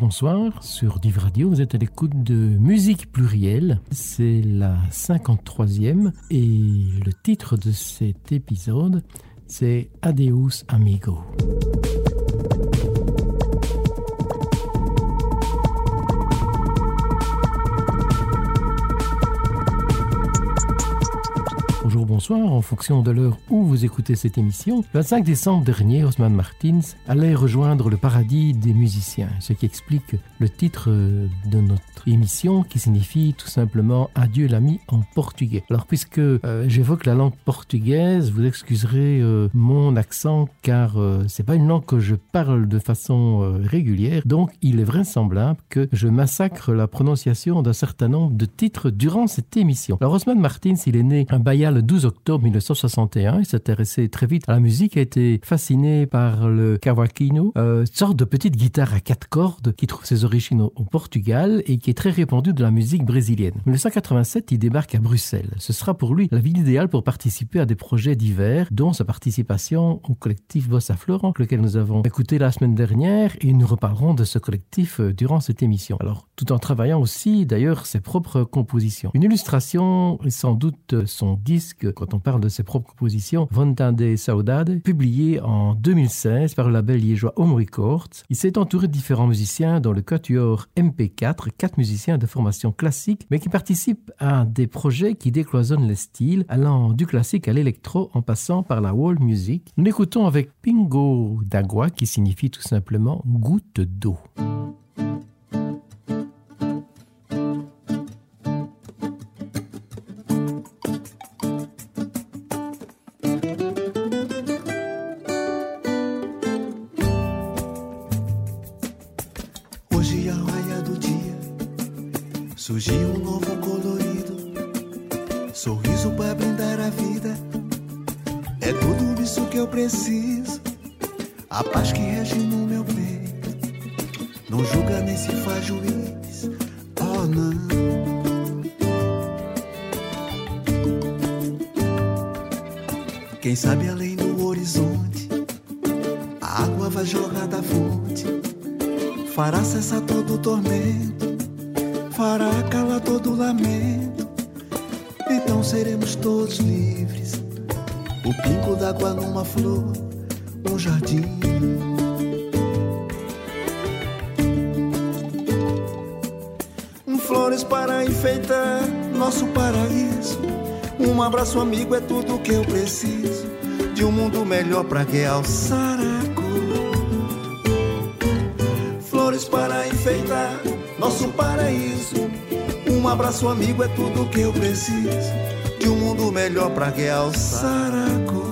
bonsoir, sur Div Radio, vous êtes à l'écoute de Musique Plurielle, c'est la 53e et le titre de cet épisode c'est Adeus Amigo. Bonjour, bonsoir, en fonction de l'heure où vous écoutez cette émission. Le 25 décembre dernier, Osman Martins allait rejoindre le paradis des musiciens, ce qui explique le titre de notre émission qui signifie tout simplement « Adieu l'ami » en portugais. Alors puisque j'évoque la langue portugaise, vous excuserez mon accent car c'est pas une langue que je parle de façon régulière, donc il est vraisemblable que je massacre la prononciation d'un certain nombre de titres durant cette émission. Alors Osman Martins, il est né à Bahia le 12 octobre 1961. Il s'intéressait très vite à la musique, a été fasciné par le cavaquinho, sorte de petite guitare à 4 cordes qui trouve ses origines au Portugal et qui est très répandue de la musique brésilienne. En 1987, il débarque à Bruxelles. Ce sera pour lui la ville idéale pour participer à des projets divers, dont sa participation au collectif Bossa Florent, lequel nous avons écouté la semaine dernière, et nous reparlerons de ce collectif durant cette émission. Alors, tout en travaillant aussi, d'ailleurs, ses propres compositions. Une illustration est sans doute son disque, quand on parle de ses propres compositions, Vontade Saudade, publié en 2016 par le label liégeois Home Records. Il s'est entouré de différents musiciens, dont le quatuor MP4, 4 musiciens de formation classique, mais qui participent à des projets qui décloisonnent les styles, allant du classique à l'électro en passant par la world music. Nous l'écoutons avec Pingo d'Agua, qui signifie tout simplement goutte d'eau. Surgiu novo colorido, sorriso pra brindar a vida. É tudo isso que eu preciso, a paz que rege no meu peito. Não julga nem se faz juiz, oh não. Quem sabe além do horizonte, a água vai jorrar da fonte, fará cessar todo o tormento, fará calar todo o lamento. Então seremos todos livres, o pingo d'água numa flor, um jardim. Flores para enfeitar nosso paraíso, um abraço amigo é tudo que eu preciso, de um mundo melhor pra realçar a cor. Flores para enfeitar nosso paraíso, um abraço amigo é tudo que eu preciso, de um mundo melhor pra realçar a cor.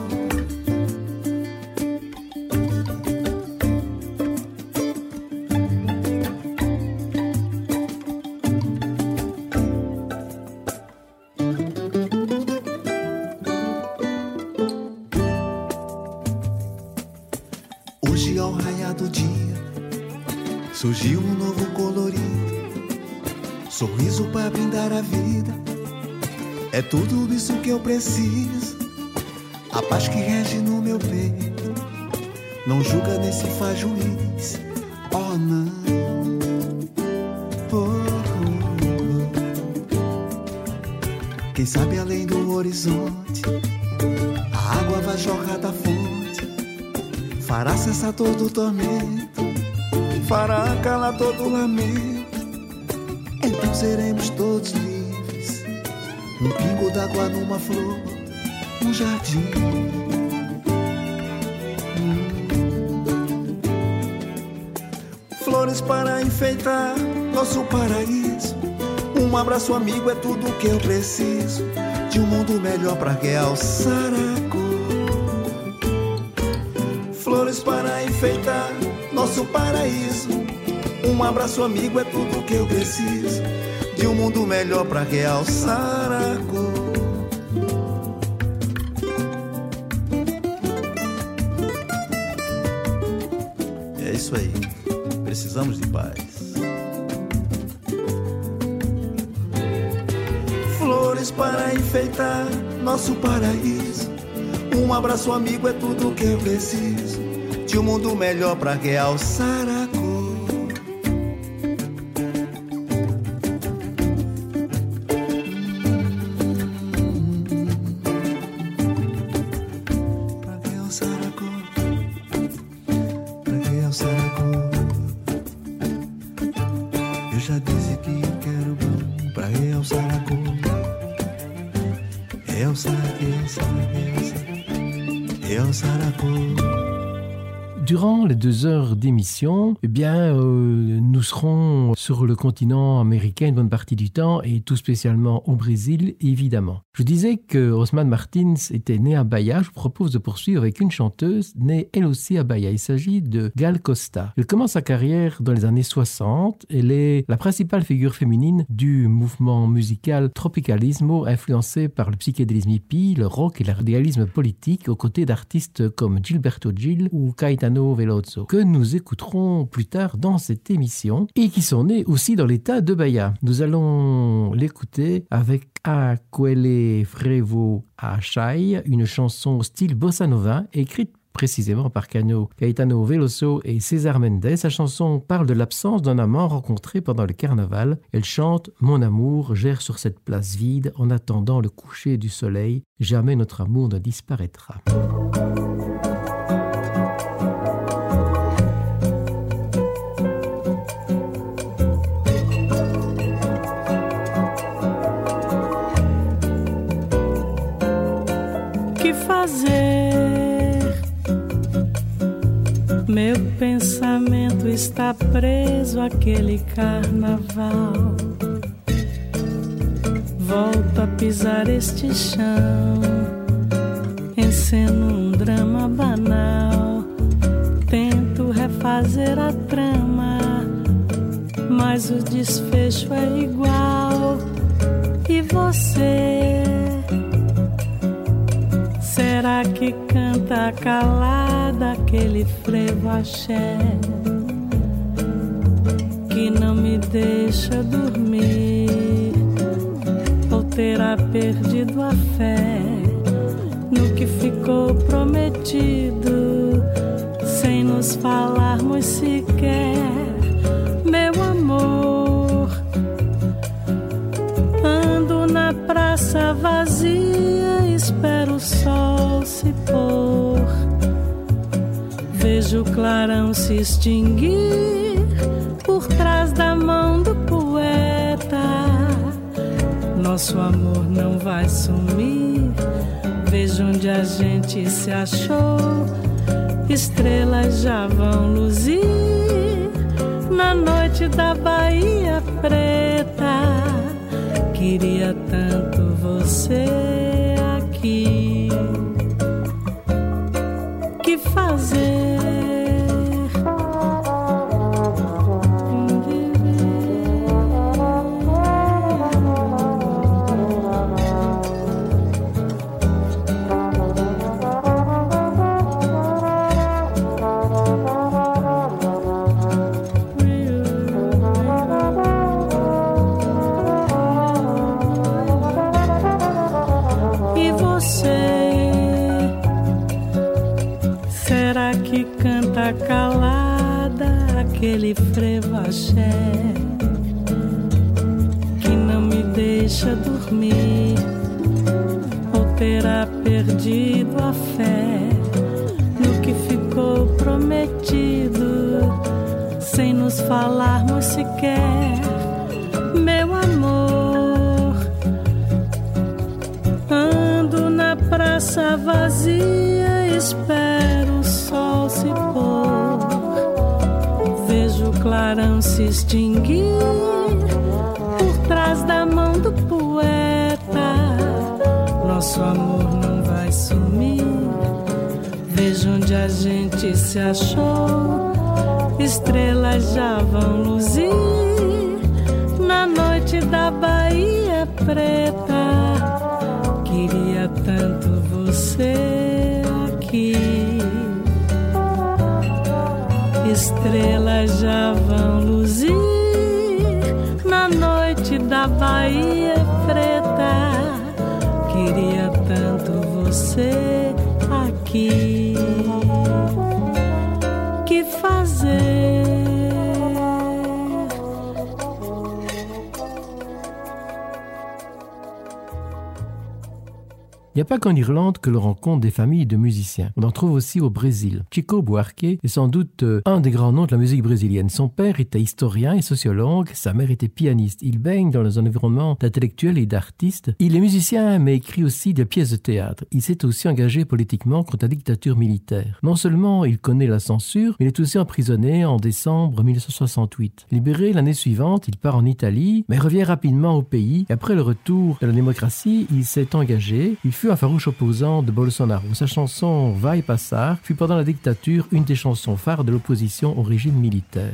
Hoje ao raiar do dia surgiu um novo colorido, sorriso pra brindar a vida. É tudo isso que eu preciso, a paz que rege no meu peito. Não julga nem se faz juiz, oh não. Quem sabe além do horizonte, a água vai jorrar da fonte, fará cessar todo o tormento, fará calar todo o lamento. Então seremos todos livres, um pingo d'água numa flor, um jardim. Flores para enfeitar nosso paraíso, um abraço amigo é tudo que eu preciso, de um mundo melhor pra realçar a cor. Flores para enfeitar nosso paraíso, um abraço amigo é tudo que eu preciso, de um mundo melhor pra realçar a cor. É isso aí, precisamos de paz. Flores para enfeitar nosso paraíso, um abraço amigo é tudo que eu preciso, de um mundo melhor pra realçar a cor. Elsa, Elsa, Elsa, Elsa Aracô. Durant les 2 heures d'émission, nous serons sur le continent américain une bonne partie du temps et tout spécialement au Brésil, évidemment. Je vous disais que Osman Martins était né à Bahia. Je vous propose de poursuivre avec une chanteuse née elle aussi à Bahia. Il s'agit de Gal Costa. Elle commence sa carrière dans les années 60. Elle est la principale figure féminine du mouvement musical Tropicalismo, influencé par le psychédélisme hippie, le rock et le réalisme politique, aux côtés d'artistes comme Gilberto Gil ou Caetano Veloso, que nous écouterons plus tard dans cette émission et qui sont nés aussi dans l'état de Bahia. Nous allons l'écouter avec Aquele Frevo Achai, une chanson au style bossa nova écrite précisément par Caetano Veloso et César Mendes. Sa chanson parle de l'absence d'un amant rencontré pendant le carnaval. Elle chante « Mon amour gère sur cette place vide en attendant le coucher du soleil. Jamais notre amour ne disparaîtra. » Meu pensamento está preso àquele carnaval. Volto a pisar este chão, enceno drama banal. Tento refazer a trama, mas o desfecho é igual. E você? Será que canta calada aquele frevo axé que não me deixa dormir? Ou terá perdido a fé no que ficou prometido, sem nos falarmos sequer? Meu amor, ando na praça vazia, espero o sol se pôr, vejo o clarão se extinguir por trás da mão do poeta. Nosso amor não vai sumir, vejo onde a gente se achou, estrelas já vão luzir na noite da Bahia Preta. Queria tanto você aqui. Que fazer? Calada aquele frevo axé que não me deixa dormir, ou terá perdido a fé no que ficou prometido, sem nos falarmos sequer? Meu amor, ando na praça vazia, espero o sol se pôr, vejo o clarão se extinguir por trás da mão do poeta. Nosso amor não vai sumir, vejo onde a gente se achou, estrelas já vão luzir na noite da Bahia Preta. Queria tanto você aqui. Estrelas já vão luzir na noite da Bahia Preta. Queria tanto você aqui. Que fazer? Il n'y a pas qu'en Irlande que l'on rencontre des familles de musiciens. On en trouve aussi au Brésil. Chico Buarque est sans doute un des grands noms de la musique brésilienne. Son père était historien et sociologue, sa mère était pianiste. Il baigne dans un environnement d'intellectuels et d'artistes. Il est musicien mais écrit aussi des pièces de théâtre. Il s'est aussi engagé politiquement contre la dictature militaire. Non seulement il connaît la censure, mais il est aussi emprisonné en décembre 1968. Libéré l'année suivante, il part en Italie, mais revient rapidement au pays. Et après le retour de la démocratie, il s'est engagé. Il fut un farouche opposant de Bolsonaro. Sa chanson Vai Passar fut pendant la dictature une des chansons phares de l'opposition au régime militaire.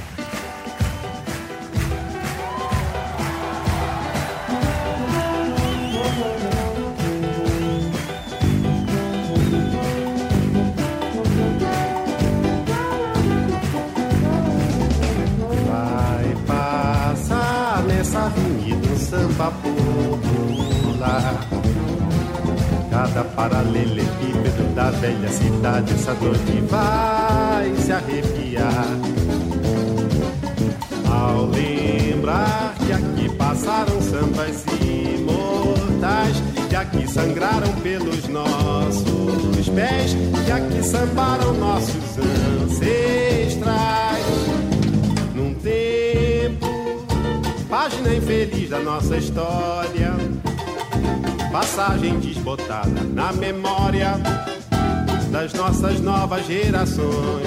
Vai passar nessa avenida um samba popular. Cada paralelepípedo da velha cidade essa noite vai se arrepiar. Ao lembrar que aqui passaram sambas imortais, que aqui sangraram pelos nossos pés, que aqui sambaram nossos ancestrais. Num tempo, página infeliz da nossa história, passagem desbotada na memória das nossas novas gerações.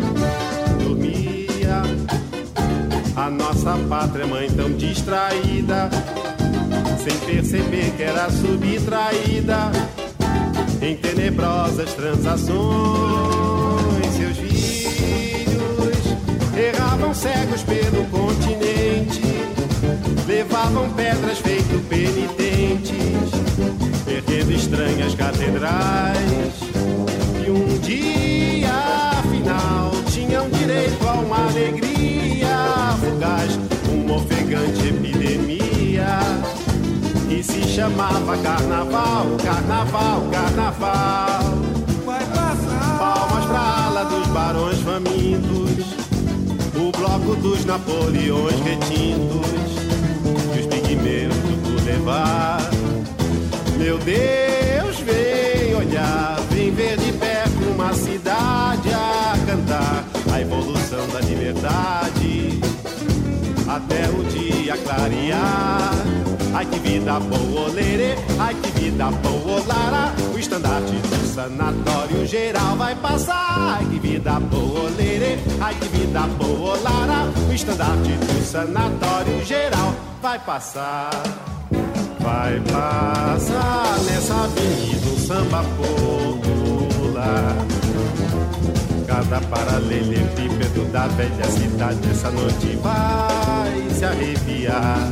Dormia a nossa pátria mãe tão distraída, sem perceber que era subtraída em tenebrosas transações. Seus filhos erravam cegos pelo continente, levavam pedras feito penitentes, perdendo estranhas catedrais. E um dia, afinal, tinham direito a uma alegria fugaz, uma ofegante epidemia que se chamava carnaval, carnaval, carnaval. Vai passar. Palmas pra ala dos barões famintos, o bloco dos Napoleões retintos e os pigmeus do Boulevard. Meu Deus, vem olhar, vem ver de perto uma cidade a cantar a evolução da liberdade até o dia clarear. Ai que vida boa, lerê, ai que vida boa, lara. O estandarte do sanatório geral vai passar. Ai que vida boa, lerê, ai que vida boa, lara. O estandarte do sanatório geral vai passar. Vai passar nessa avenida um samba popular. Cada paralelepípedo da velha cidade essa noite vai se arrepiar.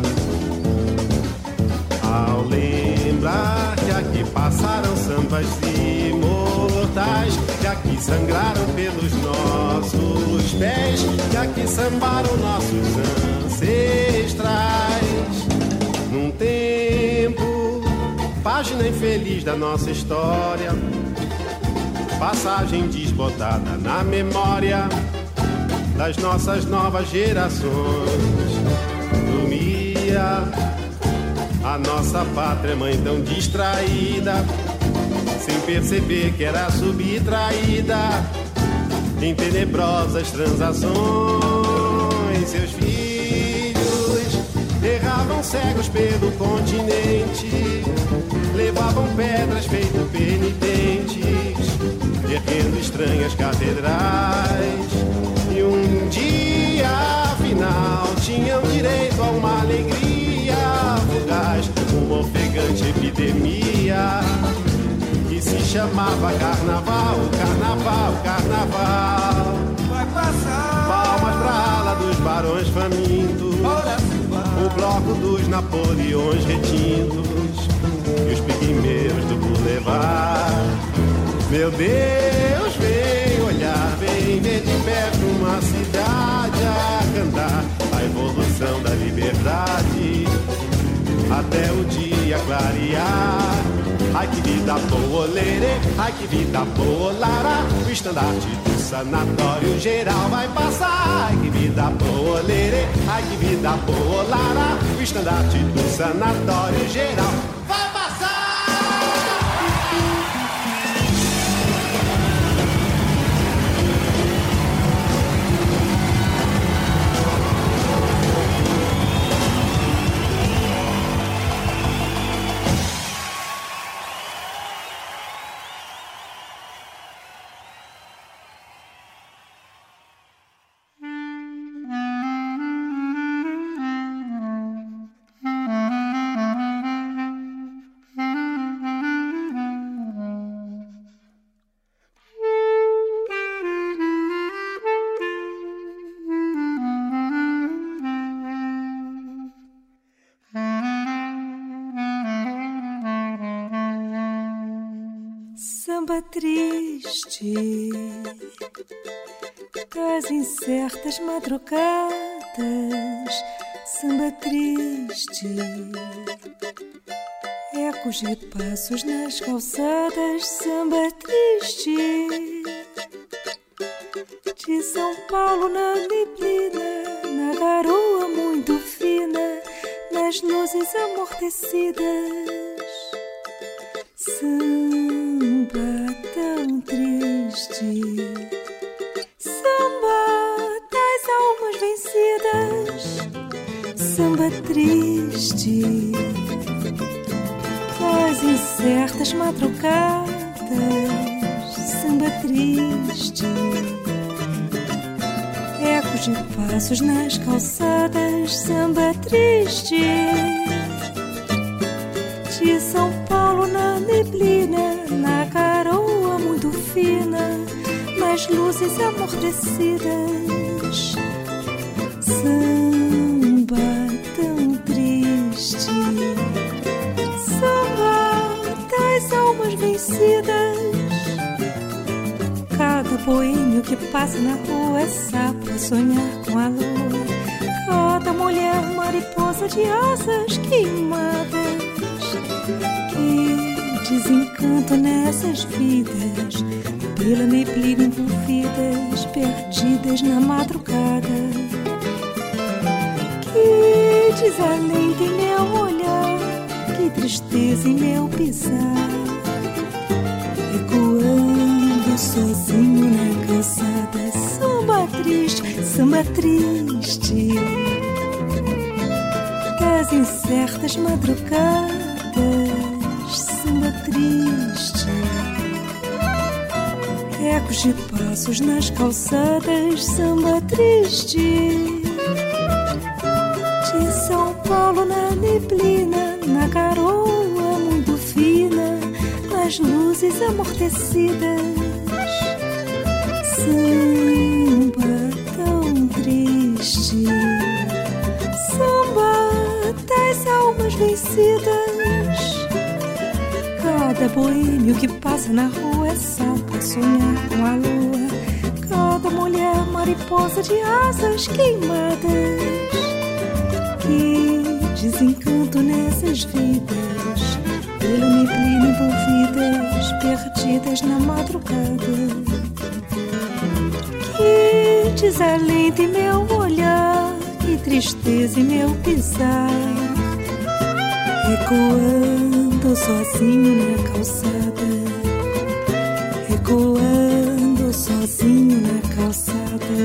Ao lembrar que aqui passaram sambas imortais, que aqui sangraram pelos nossos pés, que aqui sambaram nossos ancestrais. Num tempo, página infeliz da nossa história, passagem desbotada na memória das nossas novas gerações. Dormia a nossa pátria mãe tão distraída, sem perceber que era subtraída em tenebrosas transações. Seus filhos erravam cegos pelo continente, levavam pedras feito penitentes, erguendo estranhas catedrais. E um dia, afinal, tinham direito a uma alegria fugaz, uma ofegante epidemia que se chamava carnaval, carnaval, carnaval. Vai passar. Palmas pra ala dos barões famintos, o bloco dos Napoleões retintos e os pigmeus do Boulevard. Meu Deus, vem olhar, vem ver de perto uma cidade a cantar a evolução da liberdade até o dia clarear. Ai que vida boa, lerê, ai que vida boa, lara. O estandarte do sanatório geral vai passar. Ai que vida boa, lerê, ai que vida boa, lara. O estandarte do sanatório geral vai passar. samba triste das incertas madrugadas, samba triste, ecos de passos nas calçadas, samba triste, de São Paulo na neblina, na garoa muito fina, nas luzes amortecidas. Samba tão triste, samba das almas vencidas, samba triste das incertas madrugadas, samba triste, ecos de passos nas calçadas, samba triste, de São Paulo na neblina, na garoa muito fina, nas luzes amortecidas. Samba tão triste, samba das almas vencidas. Cada boêmio que passa na rua é sapo a sonhar com a lua. Cada mulher mariposa de asas queimadas. Que desencanto nessas vidas, pela neblina envolvidas, perdidas na madrugada. Que desalento em meu olhar, que tristeza em meu pisar, ecoando sozinho na calçada. Samba triste das incertas madrugadas, samba triste, ecos de passos nas calçadas, samba triste, de São Paulo na neblina, na garoa muito fina, nas luzes amortecidas. Samba tão triste, samba das almas vencidas. Cada boêmio que passa na rua é sapo a sonhar com a lua. Cada mulher mariposa de asas queimadas. Que desencanto nessas vidas, pela neblina envolvidas, perdidas na madrugada. Que desalento em meu olhar, que tristeza em meu pisar, ecoando sozinho na calçada, ecoando sozinho na calçada.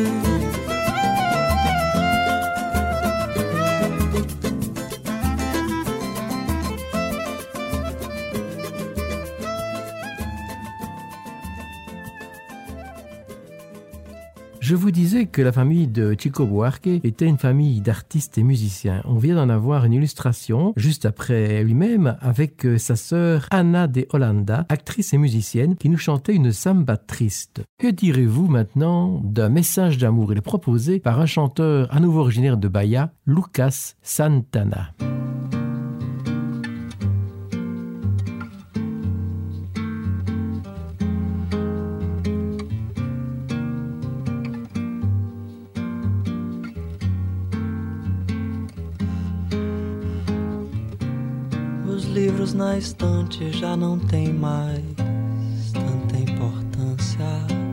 Je vous disais que la famille de Chico Buarque était une famille d'artistes et musiciens. On vient d'en avoir une illustration juste après lui-même avec sa sœur Ana de Holanda, actrice et musicienne, qui nous chantait une samba triste. Que direz-vous maintenant d'un message d'amour? Il est proposé par un chanteur à nouveau originaire de Bahia, Lucas Santana. Livros na estante já não tem mais tanta importância.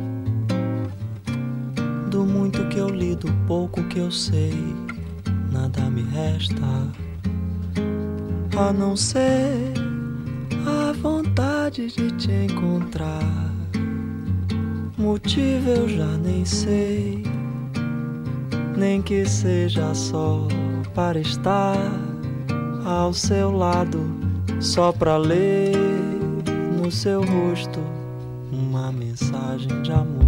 Do muito que eu li, do pouco que eu sei, nada me resta a não ser a vontade de te encontrar. Motivo eu já nem sei, nem que seja só para estar ao seu lado, só pra ler no seu rosto uma mensagem de amor.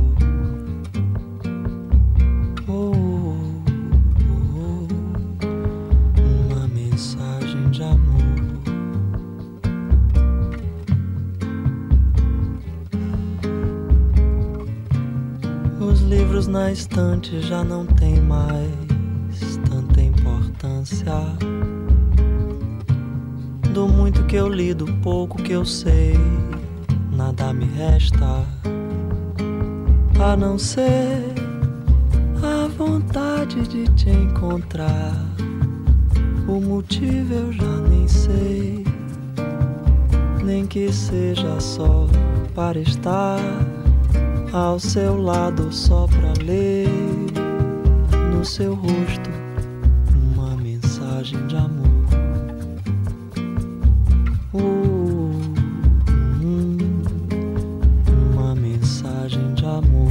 Uma mensagem de amor. Os livros na estante já não tem mais tanta importância. Do muito que eu li, do pouco que eu sei, nada me resta a não ser a vontade de te encontrar. O motivo eu já nem sei, nem que seja só para estar ao seu lado, só pra ler no seu rosto uma mensagem de amor. Uma mensagem de amor.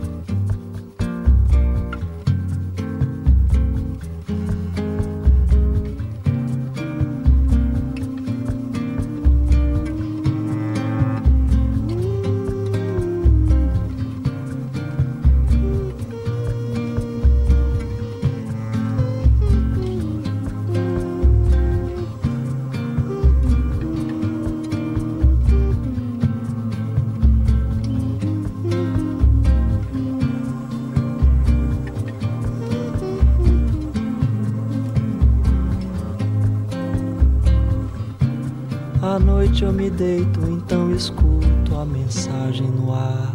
À noite eu me deito, então escuto a mensagem no ar,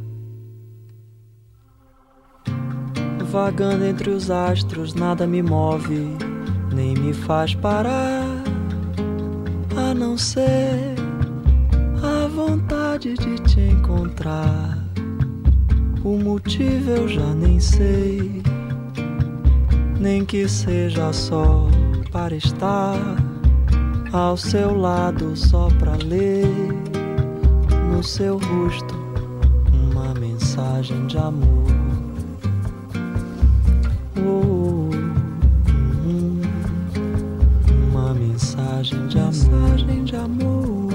vagando entre os astros, nada me move, nem me faz parar, a não ser a vontade de te encontrar. O motivo eu já nem sei, nem que seja só para estar ao seu lado, só pra ler no seu rosto uma mensagem de amor. Uma mensagem de amor.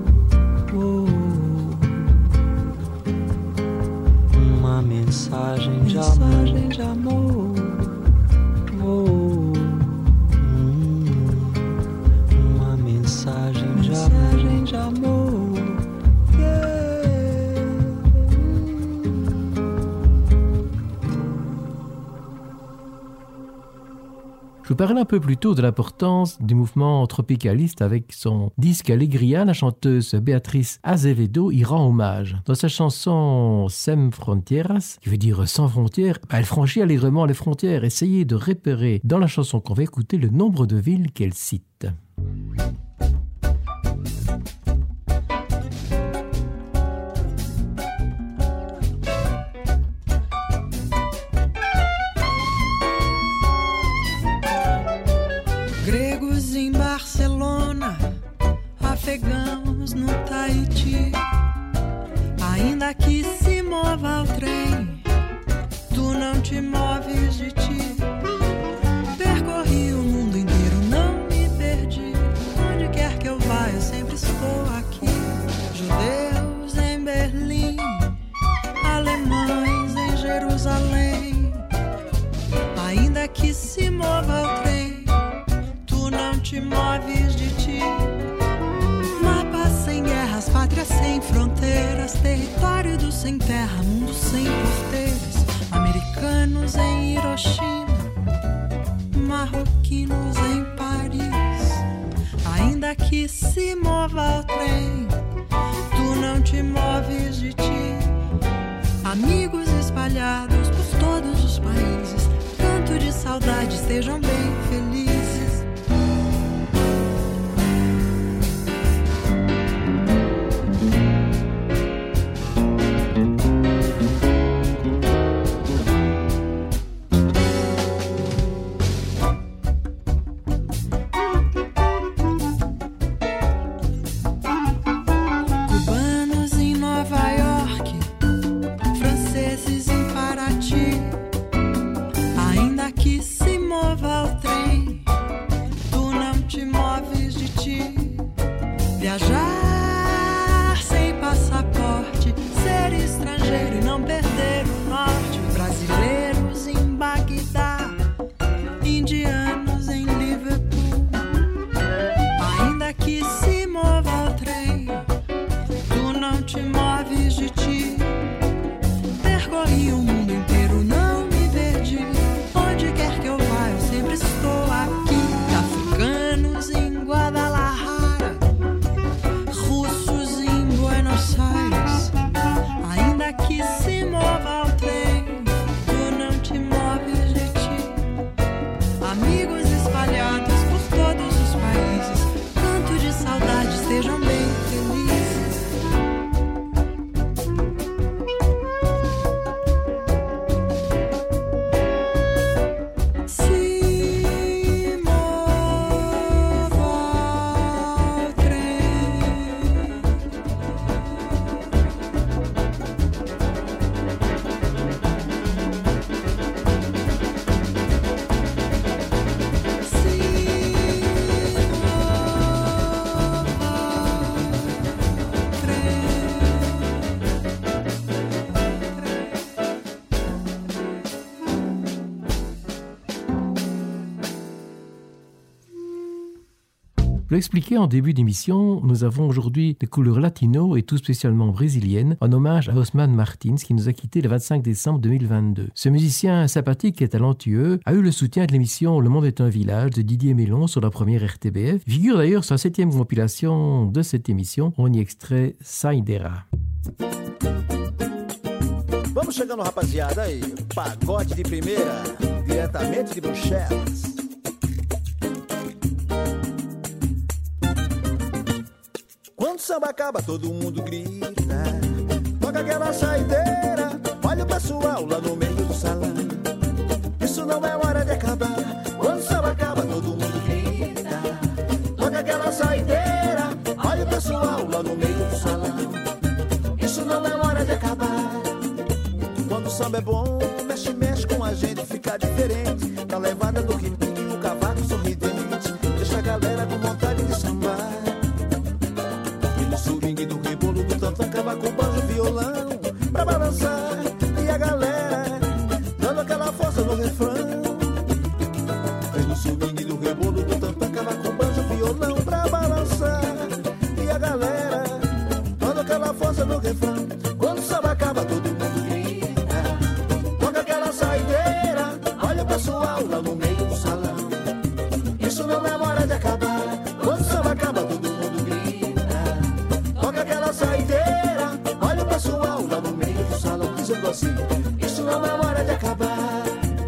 Uma mensagem de amor. Mensagem de amor. Je vous parlais un peu plus tôt de l'importance du mouvement tropicaliste. Avec son disque Alegria, la chanteuse Beatriz Azevedo y rend hommage. Dans sa chanson Sem Frontieras, qui veut dire sans frontières, elle franchit allègrement les frontières. Essayez de repérer dans la chanson qu'on va écouter le nombre de villes qu'elle cite. Gregos em Barcelona, afegãos no Tahiti. Ainda que se mova o trem, tu não te moves de ti. Percorri o mundo inteiro, não me perdi. Onde quer que eu vá, eu sempre estou aqui. Judeus em Berlim, alemães em Jerusalém. Ainda que se mova o trem, não te moves de ti. Mapas sem guerras, pátrias sem fronteiras, território do sem terra, mundo sem porteiras. Americanos em Hiroshima, marroquinos em Paris. Ainda que se mova o trem, tu não te moves de ti. Amigos espalhados por todos os países, canto de saudade, estejam bem felizes. Viajar sem passaporte, ser estrangeiro e não perder o norte. Brasileiros em Bagdá, indianos em Liverpool. Ainda que se mova o trem, tu não te moves de ti. Percorri o mundo inteiro, não me perdi. Onde quer que eu vá, eu sempre estou aqui. Africanos em Guadalajara, russos em Buenos Aires. Je l'ai expliqué en début d'émission, nous avons aujourd'hui des couleurs latino et tout spécialement brésiliennes en hommage à Osman Martins qui nous a quittés le 25 décembre 2022. Ce musicien sympathique et talentueux a eu le soutien de l'émission Le Monde est un village de Didier Mélon sur la première RTBF. Figure d'ailleurs sur la 7e compilation de cette émission. On y extrait Saideira. Vamos chegando, rapaziada, aí, pagode de primeira, diretamente de Bruxelas. Quando o samba acaba, todo mundo grita, toca aquela saideira, olha o pessoal lá no meio do salão. Isso não é hora de acabar. Quando o samba acaba, todo mundo grita, toca aquela saideira, olha o pessoal lá no meio do salão. Isso não é hora de acabar. Quando o samba é bom, mexe, mexe com a gente, fica diferente. Na levada do ritmo, o cavaco sorridente, deixa a galera com vontade de sambar. E no swing do rebolo do tantã, cavaco, banjo, violão, pra balançar. E a galera dando aquela força no refrão. E no swing do rebolo do tantã, cavaco, banjo, violão, pra balançar. E a galera dando aquela força no refrão. Quando o samba acaba, todo mundo grita, toca aquela saideira, olha o pessoal lá no meio do salão. Isso não é hora de acabar. Quando o samba acaba, todo mundo grita, toca aquela saideira, olha o pessoal lá no meio do salão, dizendo assim: isso não é hora de acabar.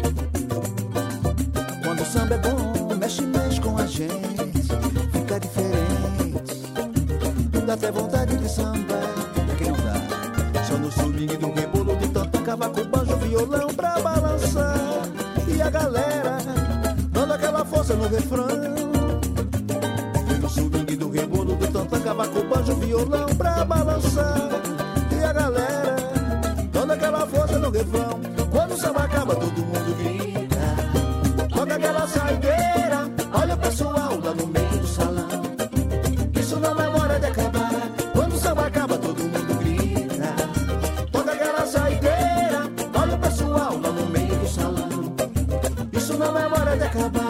Quando o samba é bom, mexe, mexe com a gente, fica diferente, dá até vontade de sambar. Quem não dá? Só no swing do rebolo do tantã, cavaco, banjo, violão pra balançar. E a galera dando aquela força no refrão. E no swing do rebolo do tantã, cavaco, banjo, violão pra balançar. E a galera dando aquela força no refrão. Quando o samba acaba, todo mundo grita, toca aquela saideira, olha o pessoal lá no meio do salão. Isso não é hora de acabar. Quando o samba acaba, todo mundo grita, toca aquela saideira, olha o pessoal lá no meio do salão. Isso não é hora de acabar.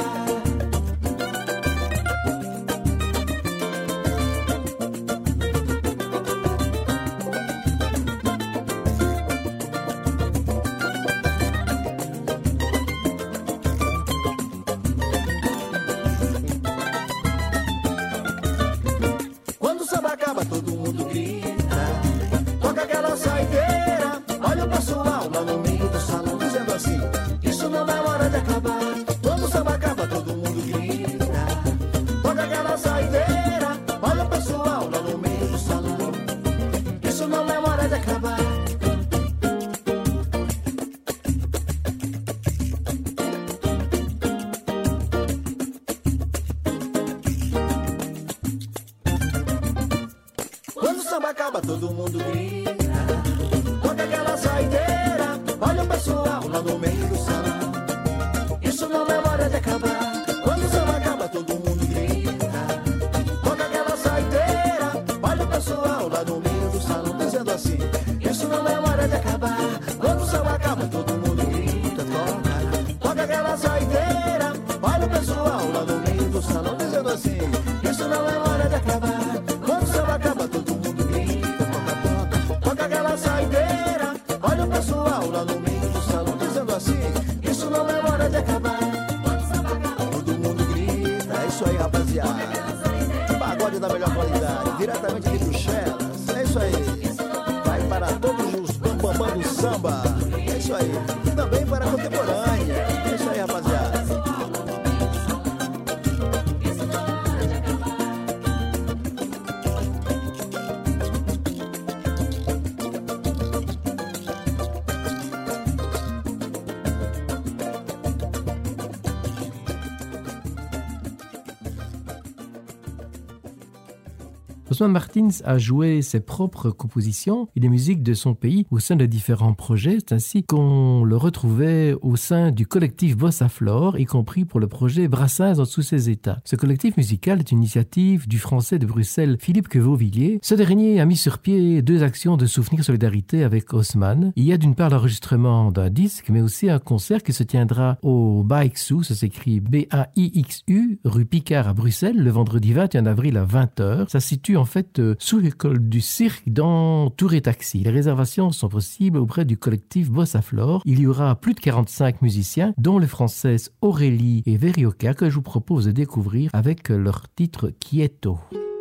Quando o samba acaba, todo mundo grita, toca aquela saideira, olha o pessoal lá no meio do salão, dizendo assim: isso não é hora de acabar. Quando o samba acaba, todo mundo grita, toca aquela saideira, olha o pessoal lá no meio do salão. Isso não é hora de acabar. Quando o samba acaba, todo mundo grita, toca aquela saideira, olha o pessoal lá no meio do salão. Isso não é hora de acabar. Quando o samba acaba, todo mundo grita, toca aquela saideira, olha o pessoal lá no meio do salão, dizendo assim: isso não é hora de acabar. Quando o samba acaba, todo mundo grita, toca aquela saideira, olha o pessoal lá no meio do salão, dizendo assim: isso não é hora de acabar. Quando o samba acaba, todo mundo grita, toca aquela saideira, olha o pessoal lá no meio do salão, dizendo assim: isso não é hora de acabar. Todo mundo grita, é isso aí, rapaziada. Pagode da melhor qualidade, diretamente de Bruxelas, é isso aí. Vai para todos os bambambam do samba, é isso aí. Também para a contemporânea, é isso aí, rapaziada. Osman Martins a joué ses propres compositions et des musiques de son pays au sein de différents projets. C'est ainsi qu'on le retrouvait au sein du collectif Bossa Flor, y compris pour le projet Brassens dans tous ses états. Ce collectif musical est une initiative du Français de Bruxelles Philippe Quevauvilliers. Ce dernier a mis sur pied 2 actions de souvenir solidarité avec Osman. Il y a d'une part l'enregistrement d'un disque, mais aussi un concert qui se tiendra au Baixu, ça s'écrit B-A-I-X-U, rue Picard à Bruxelles, le vendredi 21 avril à 20h. Ça se situe en fait sous l'école du cirque dans Touré Taxi. Les réservations sont possibles auprès du collectif Bossa Flor. Il y aura plus de 45 musiciens, dont les Françaises Aurélie et Verioca, que je vous propose de découvrir avec leur titre Quieto.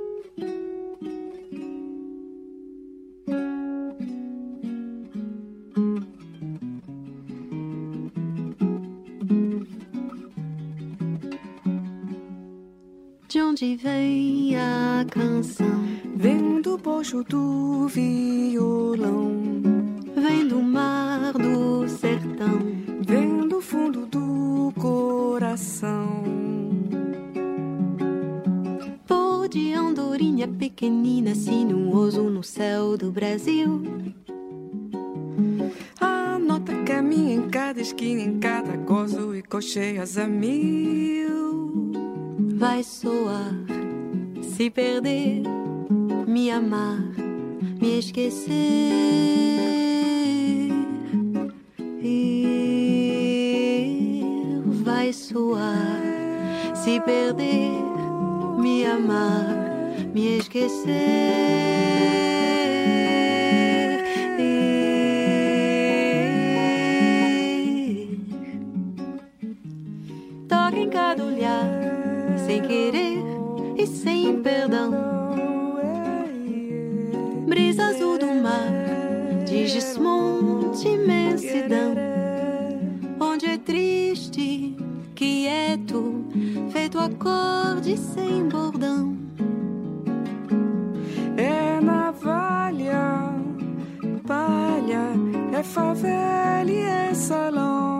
De onde vem a canção? Vem do bojo do violão, Vem do mar, do sertão, vem do fundo do coração. Pôr de andorinha pequenina, sinuoso no céu do Brasil. A nota caminha em cada esquina, em cada gozo e cocheias a mil. Vai soar, se perder, me amar, me esquecer. Vai soar, se perder, me amar, me esquecer. Toca em cada olhar, sem querer e sem perdão. Brisa azul do mar, de desmonte, imensidão. Onde é triste, quieto, feito acorde sem bordão. É navalha, palha, é favela e é salão.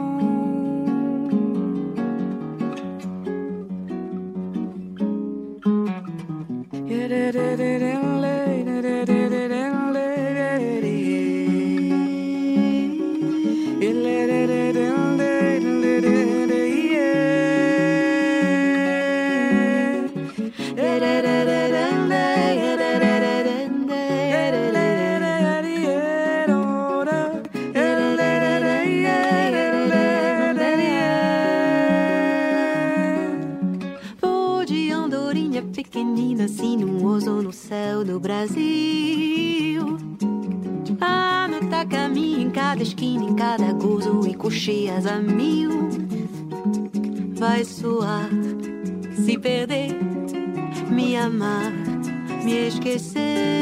Pequenina, sinuoso no céu do Brasil. A nota caminha em cada esquina, em cada gozo e cocheias a mil. Vai soar, se perder, me amar, me esquecer.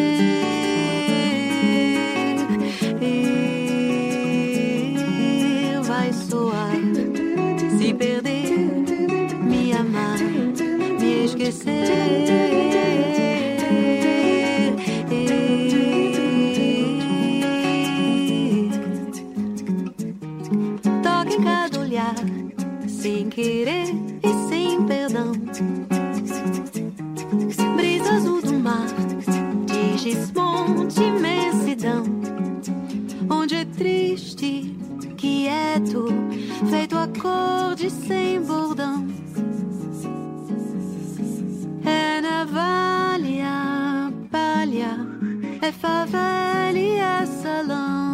Vai soar, se perder, me amar, me esquecer. Toca em cada olhar, sem querer e sem perdão. Brisa azul do mar, de desmonte, imensidão. Onde é triste, quieto, feito acorde sem bordão. É navalha, palha, é favela e é salão.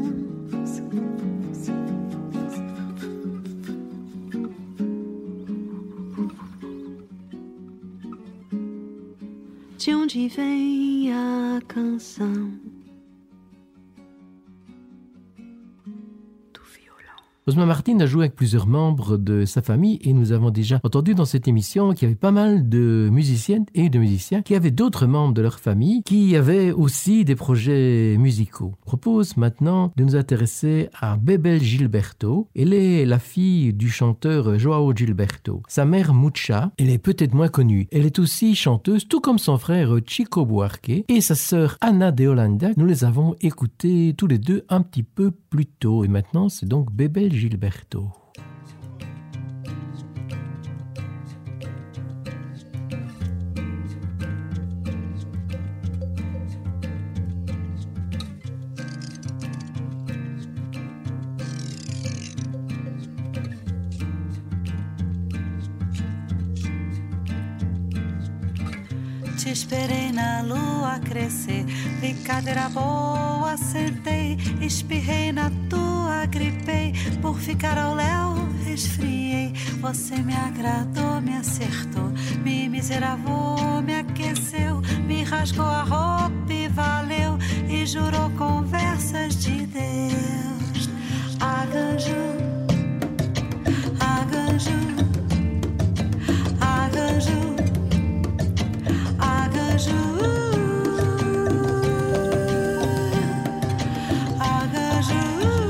De onde vem a canção? Osman Martins a joué avec plusieurs membres de sa famille et nous avons déjà entendu dans cette émission qu'il y avait pas mal de musiciennes et de musiciens qui avaient d'autres membres de leur famille qui avaient aussi des projets musicaux. Je propose maintenant de nous intéresser à Bebel Gilberto. Elle est la fille du chanteur Joao Gilberto. Sa mère Mucha, elle est peut-être moins connue. Elle est aussi chanteuse, tout comme son frère Chico Buarque et sa sœur Ana de Holanda. Nous les avons écoutés tous les deux un petit peu plus tôt et maintenant c'est donc Bebel Gilberto. te esperei na lua crescer. Brincadeira boa, sentei, espirrei na tua, gripei. Por ficar ao léu, resfriei. Você me agradou, me acertou, me miseravou, me aqueceu, me rasgou a roupa e valeu, e jurou conversas de Deus. Arranjo, arranjo, arranjo, arranjo, arranjo.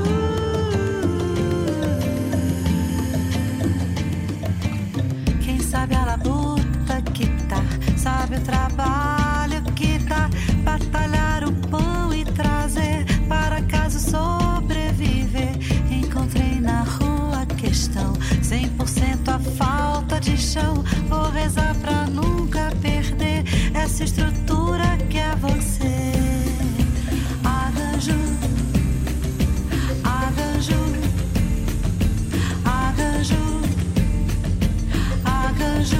Quem sabe a labuta que tá, sabe o trabalho que dá, batalhar o pão e trazer para casa sobreviver. Encontrei na rua a questão, 100% a falta de chão. Vou rezar pra nunca perder essa estrutura que é você. Arranjo, arranjo, arranjo, arranjo,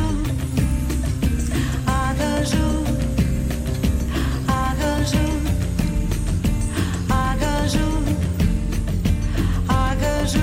arranjo, arranjo, arranjo, arranjo.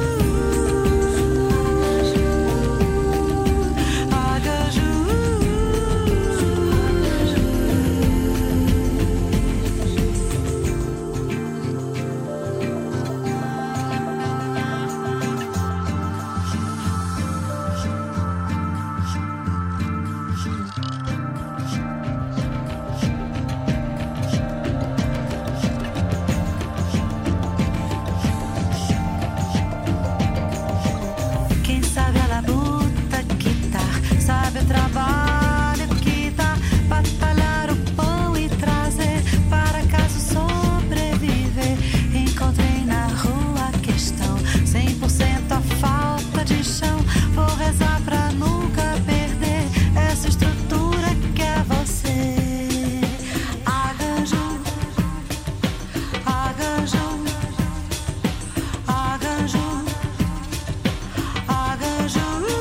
Quem sabe a labuta que tá, sabe o trabalho que dá, batalhar o pão e trazer para casa sobreviver. Encontrei na rua a questão, 100% a falta de chão. Vou rezar pra nunca perder essa estrutura que é você. Arranjo, arranjo, arranjo, arranjo,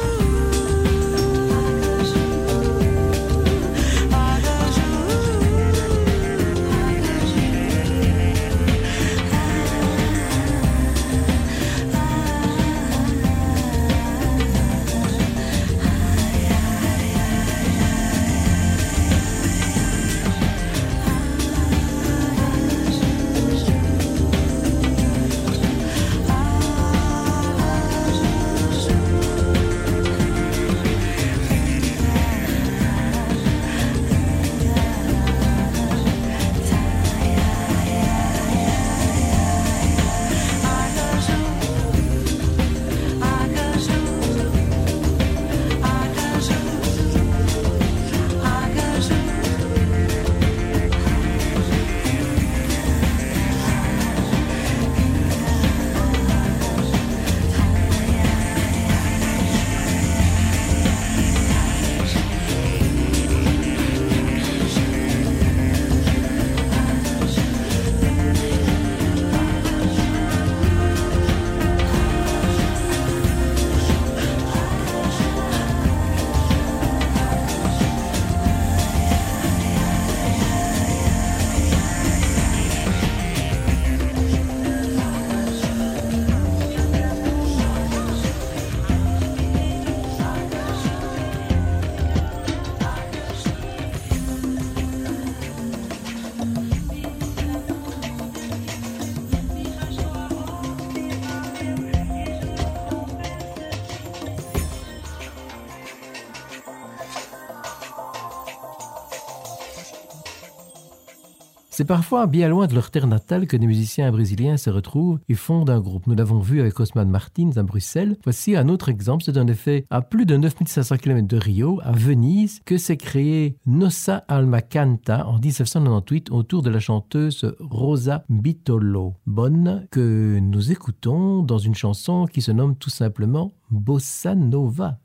C'est parfois bien loin de leur terre natale que des musiciens brésiliens se retrouvent et fondent un groupe. Nous l'avons vu avec Osman Martins à Bruxelles. Voici un autre exemple, c'est en effet à plus de 9500 km de Rio, à Venise, que s'est créé Nossa Alma Canta en 1998 autour de la chanteuse Rosa Bitolo. Bonne, que nous écoutons dans une chanson qui se nomme tout simplement Bossa Nova.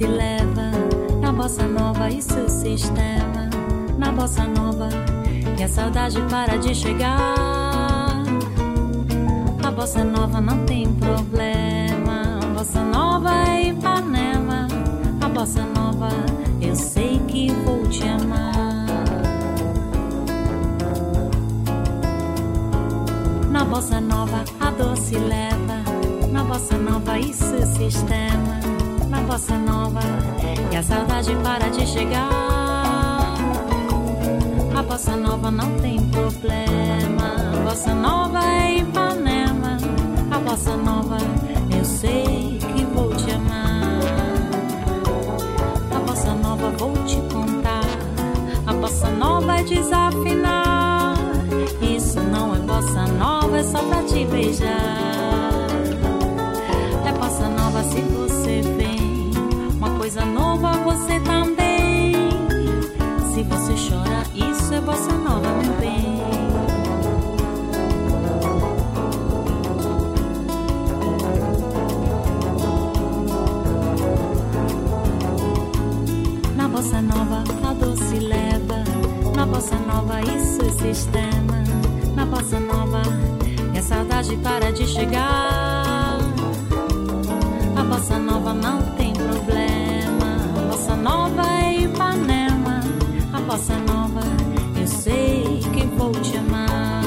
doce leva, na bossa nova e seu sistema. Na bossa nova, e a saudade para de chegar. A bossa nova não tem problema. A bossa nova é Ipanema. A bossa nova, eu sei que vou te amar. Na bossa nova, a doce leva. Na bossa nova, isso é sistema. Na bossa nova, e a saudade para de chegar. A bossa nova não tem problema. A bossa nova é Ipanema. A bossa nova, eu sei que vou te amar. A bossa nova vou te contar. A bossa nova é desafinar. Isso não é bossa nova, é só pra te beijar. É bossa nova se você vem. Uma coisa nova você também. Se você chora, isso é bossa nova, meu bem. Na bossa nova, a doce leva. Na bossa nova, isso é sistema. Na bossa nova, e a saudade para de chegar. A bossa nova não tem problema. A bossa nova é Ipanema. A bossa nova, eu sei que vou te amar.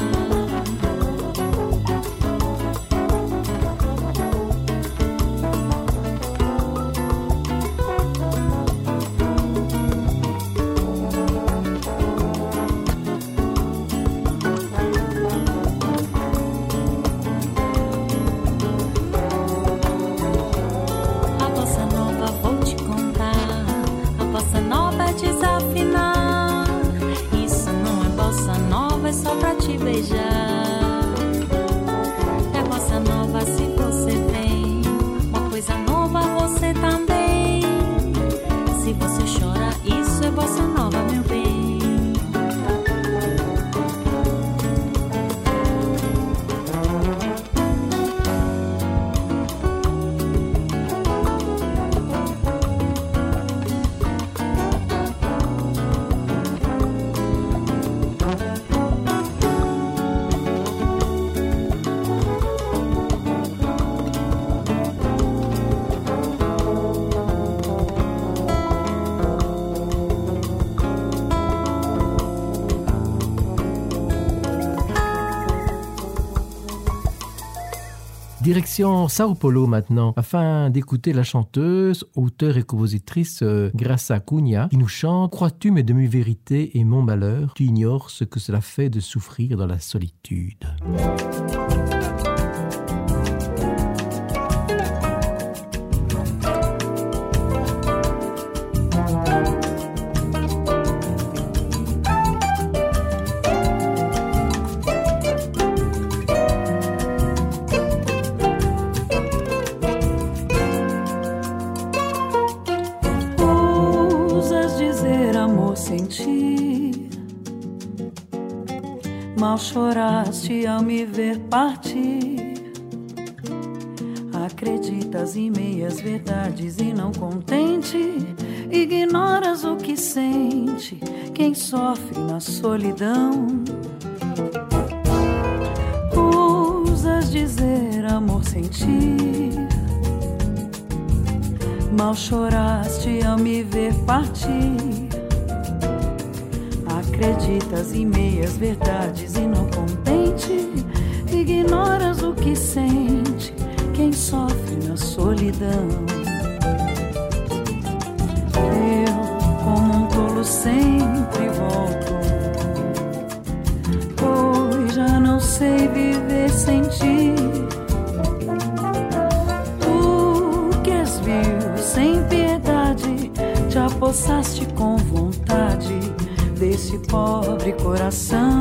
A bossa nova vou te contar. A bossa nova é desafinar. Isso não é bossa nova, é só pra te beijar. É bossa nova se você vem. Uma coisa nova você também. Se você chora, isso é bossa nova, meu bem. Direction Sao Paulo maintenant, afin d'écouter la chanteuse, auteure et compositrice Graça Cunha, qui nous chante « Crois-tu mes demi-vérités et mon malheur? Tu ignores ce que cela fait de souffrir dans la solitude. » Mal choraste ao me ver partir. Acreditas em meias verdades e não contente, ignoras o que sente quem sofre na solidão. Ousas dizer amor sentir. Mal choraste ao me ver partir. Acreditas em meias verdades e não contente, ignoras o que sente quem sofre na solidão. Eu, como um tolo, sempre volto, pois já não sei viver sem ti. Tu que és vil, sem piedade, te apossaste com vontade desse pobre coração.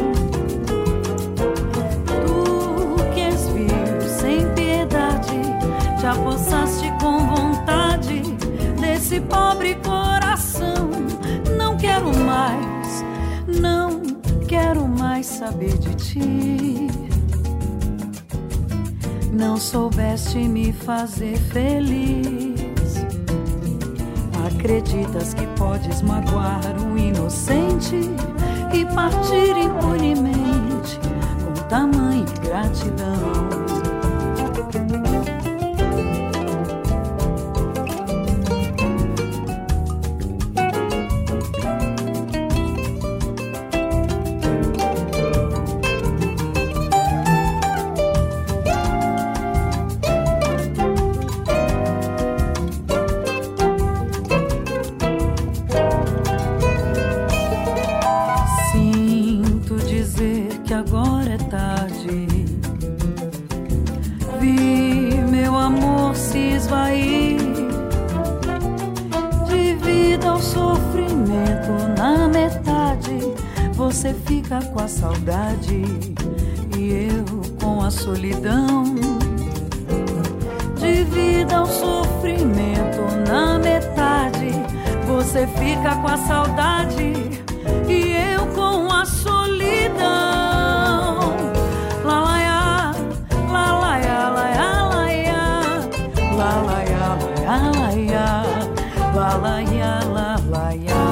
Tu que és vil, sem piedade, te apossaste com vontade desse pobre coração. Não quero mais, não quero mais saber de ti. Não soubeste me fazer feliz. Acreditas que podes magoar o inocente e partir impunemente com tamanha gratidão. Você fica com a saudade e eu com a solidão. De vida ao sofrimento na metade, você fica com a saudade e eu com a solidão. La la ya, la la ya, la ya, la ya, la la ya, la ya, la la ya, la la ya.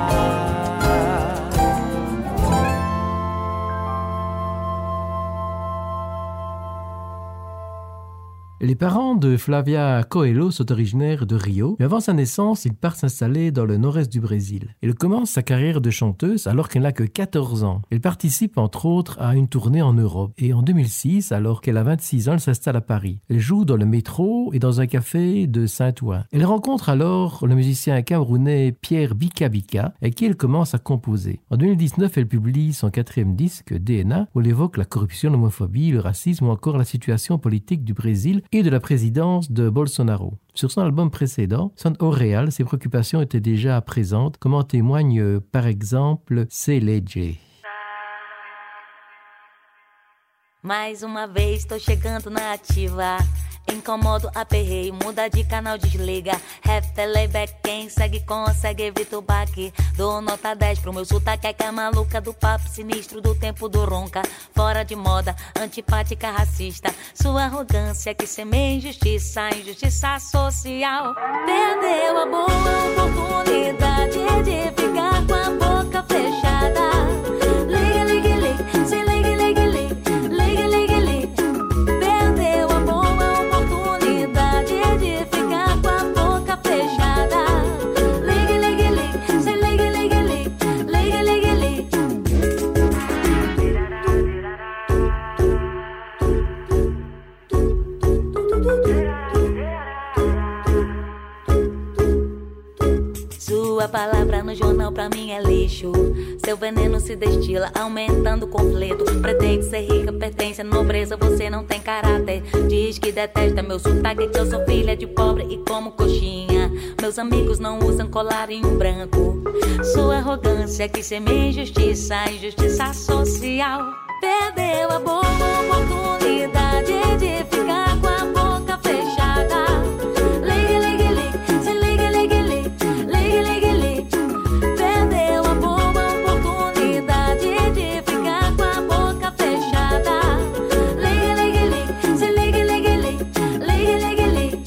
Les parents de Flavia Coelho sont originaires de Rio, mais avant sa naissance, il part s'installer dans le nord-est du Brésil. Elle commence sa carrière de chanteuse alors qu'elle n'a que 14 ans. Elle participe entre autres à une tournée en Europe. Et en 2006, alors qu'elle a 26 ans, elle s'installe à Paris. Elle joue dans le métro et dans un café de Saint-Ouen. Elle rencontre alors le musicien camerounais Pierre Bika Bika, avec qui elle commence à composer. En 2019, elle publie son 4e disque, DNA, où elle évoque la corruption, l'homophobie, le racisme ou encore la situation politique du Brésil et de la présidence de Bolsonaro. Sur son album précédent, Son Auréal, ses préoccupations étaient déjà présentes, comme en témoigne par exemple Celeje. Mais uma vez tô chegando na ativa. Incomodo, aperreio, muda de canal, desliga. Rap, playback, quem segue consegue, evita o baque. Dou nota 10 pro meu sotaque, é que é maluca do papo sinistro do tempo do ronca. Fora de moda, antipática, racista. Sua arrogância que semeia injustiça, injustiça social. Perdeu a boa oportunidade de ficar com a boca fechada. Liga, liga, liga, se liga, liga, liga. Liga, liga, liga. Perdeu a boa oportunidade de ficar com a boca fechada. Liga, liga, liga, se liga, liga, liga. Liga, liga, liga. Sua palavra no jornal pra mim é lixo. Seu veneno se destila, aumentando o conflito. Pretende ser rica, pertence à nobreza, você não tem caráter. Diz que detesta meu sotaque, que eu sou filha de pobre e como coxinha. Meus amigos não usam colarinho branco. Sua arrogância que semeia injustiça, injustiça social. Perdeu a boa oportunidade de ficar com a boca fechada. Liga, liga, liga, se liga, liga, liga. Liga, liga, liga. Perdeu a boa oportunidade de ficar com a boca fechada. Liga, liga, liga, se liga, liga, liga. Liga, liga, liga.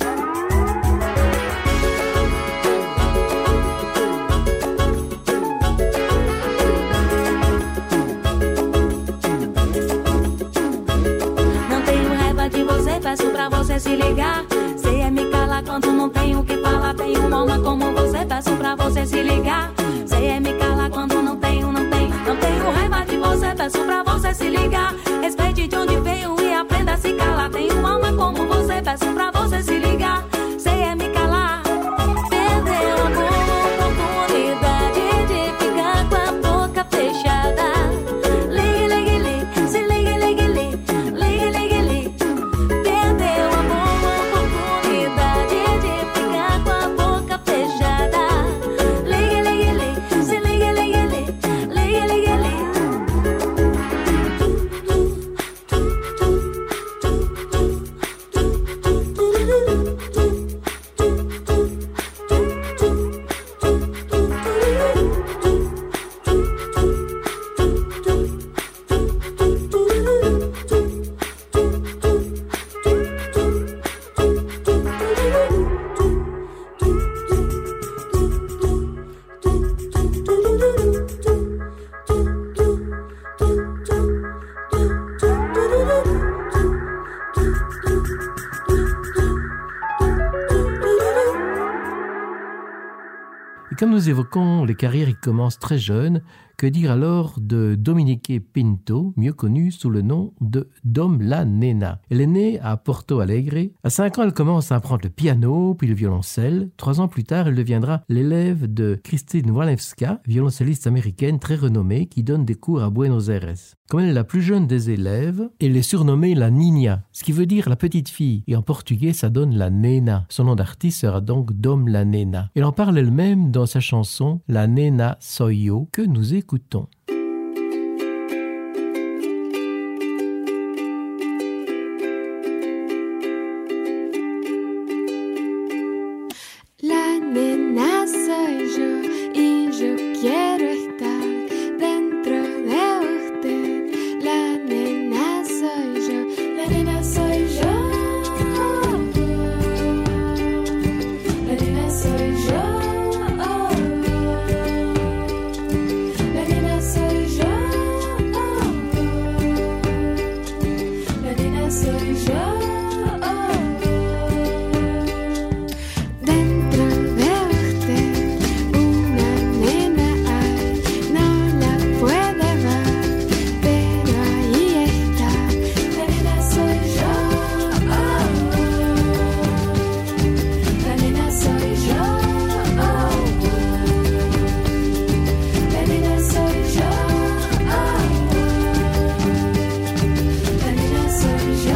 Não tenho raiva de você, peço pra você se ligar. Cê é me calar quando não tenho o que falar. Tenho uma alma como você, peço pra você se ligar. Cê é me calar quando não tenho raiva de você, peço pra você se ligar. Respeite de onde veio e aprenda a se calar. Tenho uma alma como você, peço pra você se ligar. Cê é me calar. Perdeu a boa oportunidade de ficar com a boca fechada. Liga, liga, liga, se liga, liga, liga. Liga, liga, liga. Perdeu a boa oportunidade de ficar com a boca fechada. Liga, liga, liga, se liga, liga, liga. Liga, liga, liga. comme nous évoquons les carrières qui commencent très jeunes, que dire alors de Dominique Pinto, mieux connue sous le nom de Dom la Nena. Elle est née à Porto Alegre. À 5 ans, elle commence à apprendre le piano, puis le violoncelle. 3 ans plus tard, elle deviendra l'élève de Christine Walewska, violoncelliste américaine très renommée, qui donne des cours à Buenos Aires. Comme elle est la plus jeune des élèves, elle est surnommée la Niña, ce qui veut dire la petite fille. Et en portugais, ça donne la Nena. Son nom d'artiste sera donc Dom la Nena. Elle en parle elle-même dans sa chanson « La Nena soy yo » que nous écoutons. La nena soy yo y yo quiero estar dentro de usted. La nena soy yo, la nena soy yo. La nena soy yo. La nena soy yo. La nena soy yo. Dentro de usted una nena hay, no la puede ver, pero ahí está. La nena soy yo. La nena soy yo. La nena soy yo. La nena soy yo.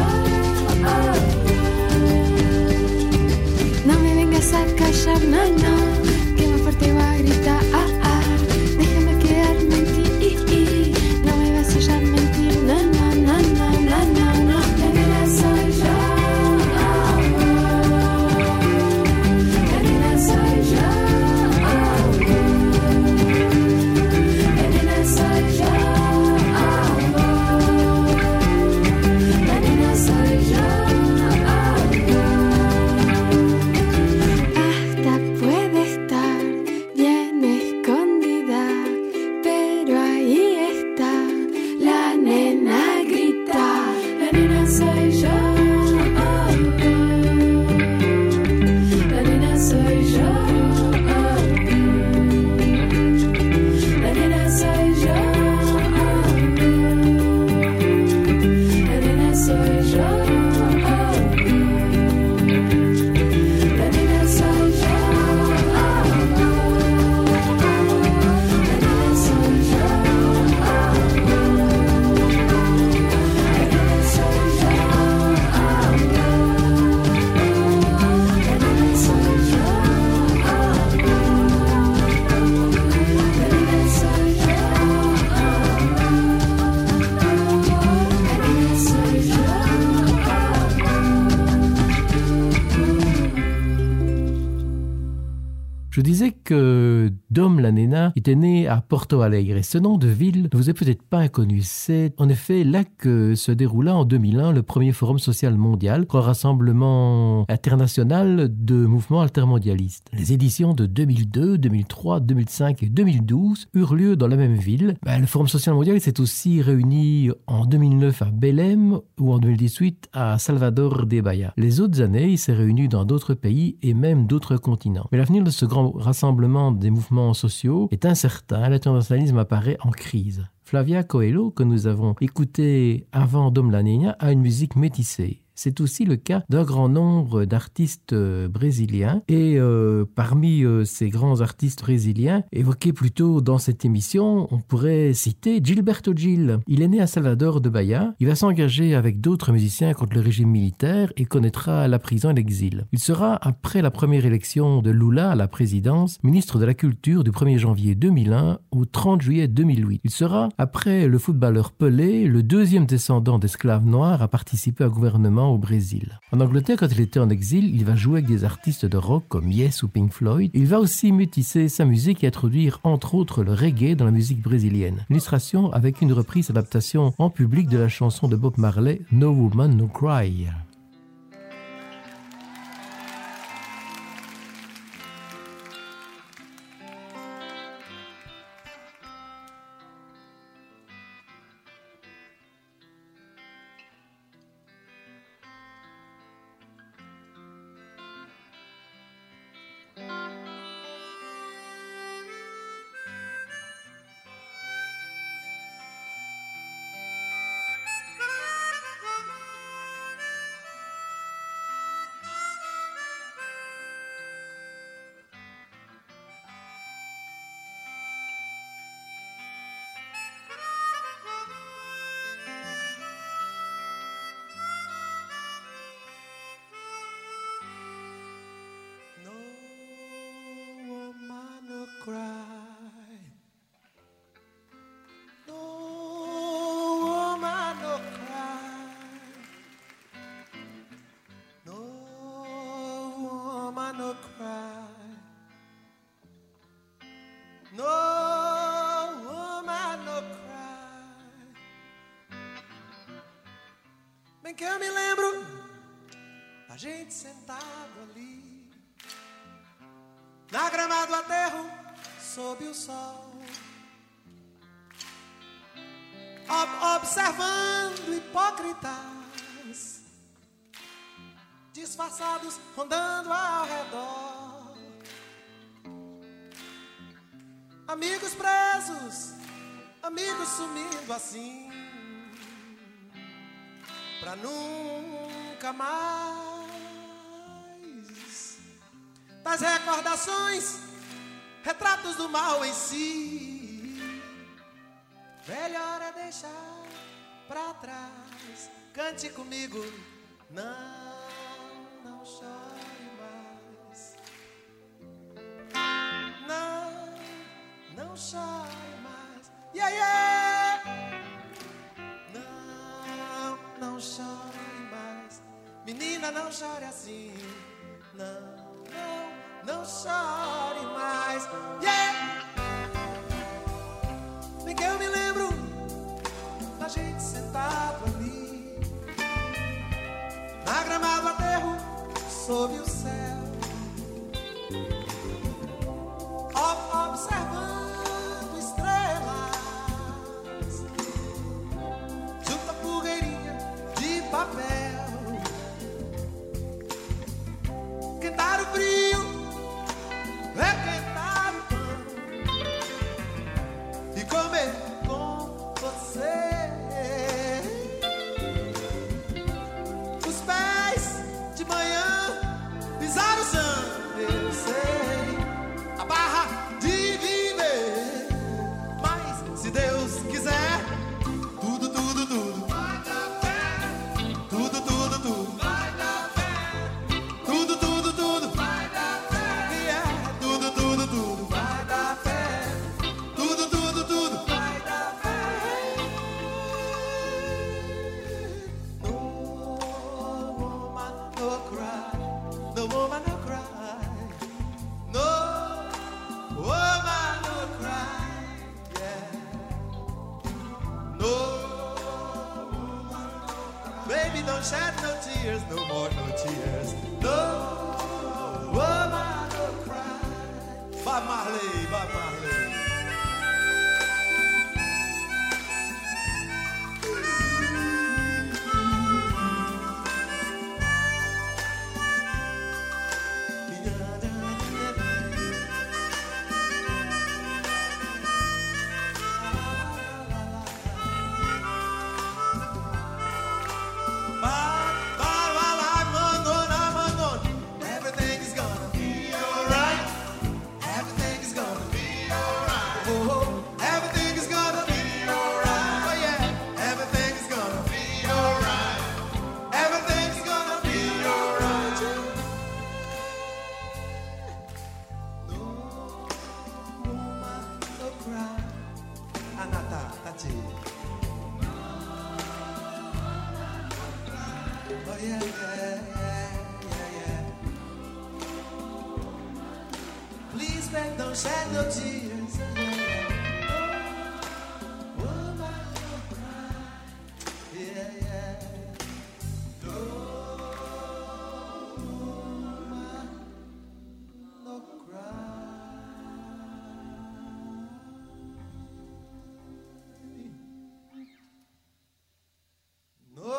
No me vengas a callar, no, no, que más fuerte va a gritar, déjame quedarme en ti, no me vas a hallar mentir, no, no, no, no, no, no, no, la nena soy yo. La nena soy yo. La nena soy yo. La nena soy yo. Hasta puede estar bien escondida, pero ahí está. La nena grita, la nena soy yo. La nena soy yo. La nena soy yo. La nena soy yo. La nena soy yo. Je disais que Dom la Nena était né à Porto Alegre. Ce nom de ville ne vous est peut-être pas inconnu. C'est en effet là que se déroula en 2001 le premier forum social mondial, un rassemblement international de mouvements altermondialistes. Les éditions de 2002, 2003, 2005 et 2012 eurent lieu dans la même ville. Le forum social mondial s'est aussi réuni en 2009 à Belém ou en 2018 à Salvador de Bahia. Les autres années, il s'est réuni dans d'autres pays et même d'autres continents. Mais l'avenir de ce grand rassemblement des mouvements sociaux est incertain. L'internationalisme apparaît en crise. Flavia Coelho, que nous avons écouté avant Dom la Nena, a une musique métissée. C'est aussi le cas d'un grand nombre d'artistes brésiliens. Et parmi ces grands artistes brésiliens, évoqués plus tôt dans cette émission, on pourrait citer Gilberto Gil. Il est né à Salvador de Bahia. Il va s'engager avec d'autres musiciens contre le régime militaire et connaîtra la prison et l'exil. Il sera, après la première élection de Lula à la présidence, ministre de la Culture du 1er janvier 2001 au 30 juillet 2008. Il sera, après le footballeur Pelé, le deuxième descendant d'esclaves noirs à participer au gouvernement au Brésil. En Angleterre, quand il était en exil, il va jouer avec des artistes de rock comme Yes ou Pink Floyd. Il va aussi métisser sa musique et introduire entre autres le reggae dans la musique brésilienne. Illustration avec une reprise adaptation en public de la chanson de Bob Marley No Woman No Cry. Bem que eu me lembro da gente sentado ali na grama do aterro sob o sol, observando hipócritas disfarçados rondando ao redor, amigos presos, amigos sumindo assim pra nunca mais. Das recordações, retratos do mal em si, melhor é deixar pra trás. Cante comigo, não chore mais. Não chore mais. Yeah, yeah. Não chore mais. Menina, não chore assim. Não chore mais. Yeah. Bem que eu me lembro da gente sentado ali na grama do aterro sob o céu, observando estrelas junto à fogueirinha de papel, quentar o frio, requentar o pão e comer com você. Os pés de manhã pisar o chão, eu sei, a barra de viver. Mas se Deus quiser, tudo vai dar pé. Tudo vai dar pé. Tudo vai dar pé. Yeah. Tudo vai dar pé. Tudo vai dar pé. No woman no cry. No woman no cry. No woman no cry. Yeah. No woman no cry. Baby, don't shed no tears. No more no tears. No woman no cry. Bob Marley, Bob Marley. Everything is gonna be alright. Everything is gonna be alright. Oh, everything is gonna be alright. Oh yeah, everything is gonna be alright. Everything is gonna be alright. No woman, no cry. Anata, Tati. Oh yeah, yeah. Please, babe, don't shed no tears. Oh, woman, no cry. Yeah. No woman, no cry. No.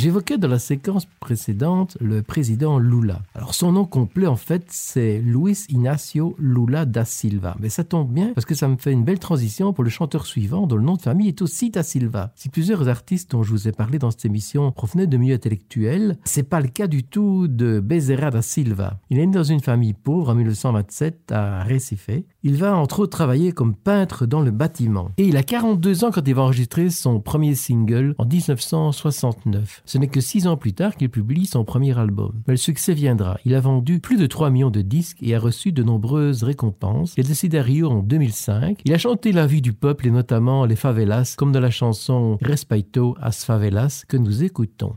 J'évoquais dans la séquence précédente le président Lula. Alors son nom complet en fait c'est Luis Inácio Lula da Silva. Mais ça tombe bien parce que ça me fait une belle transition pour le chanteur suivant dont le nom de famille est aussi da Silva. Si plusieurs artistes dont je vous ai parlé dans cette émission provenaient de milieux intellectuels, c'est pas le cas du tout de Bezerra da Silva. Il est né dans une famille pauvre en 1927 à Recife. Il va entre autres travailler comme peintre dans le bâtiment. Et il a 42 ans quand il va enregistrer son premier single en 1969. Ce n'est que 6 ans plus tard qu'il publie son premier album. Mais le succès viendra. Il a vendu plus de 3 millions de disques et a reçu de nombreuses récompenses. Il est décédé à Rio en 2005. Il a chanté la vie du peuple et notamment les favelas, comme dans la chanson Respeito as Favelas que nous écoutons.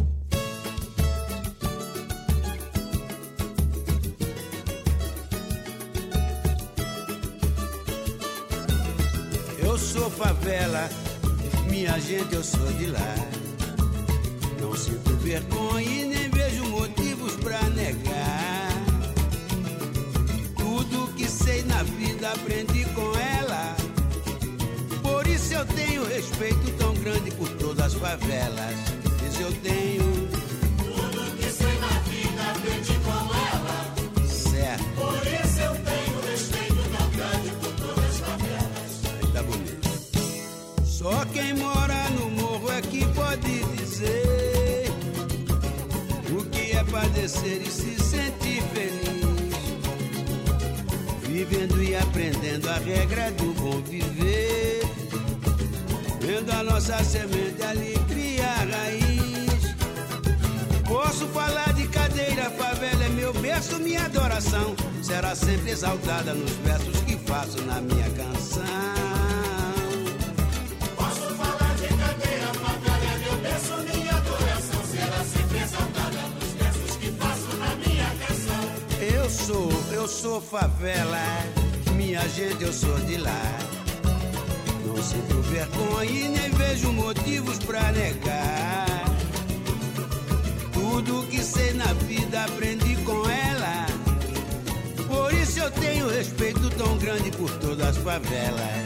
Eu sou favela, minha gente, eu sou de lá. Não sinto vergonha e nem vejo motivos pra negar. Tudo que sei na vida aprendi com ela. Por isso eu tenho respeito tão grande por todas as favelas. Diz eu tenho. Tudo que sei na vida aprendi com ela. Certo. Por isso eu tenho respeito tão grande por todas as favelas. Tá bonito. Só quem mora no morro é que pode dizer o que é padecer e se sentir feliz, vivendo e aprendendo a regra do bom viver, vendo a nossa semente ali criar raiz. Posso falar de cadeira, favela é meu berço, minha adoração será sempre exaltada nos versos que faço na minha canção. Eu sou favela, minha gente, eu sou de lá. Não sinto vergonha e nem vejo motivos pra negar. Tudo que sei na vida aprendi com ela. Por isso eu tenho respeito tão grande por todas as favelas.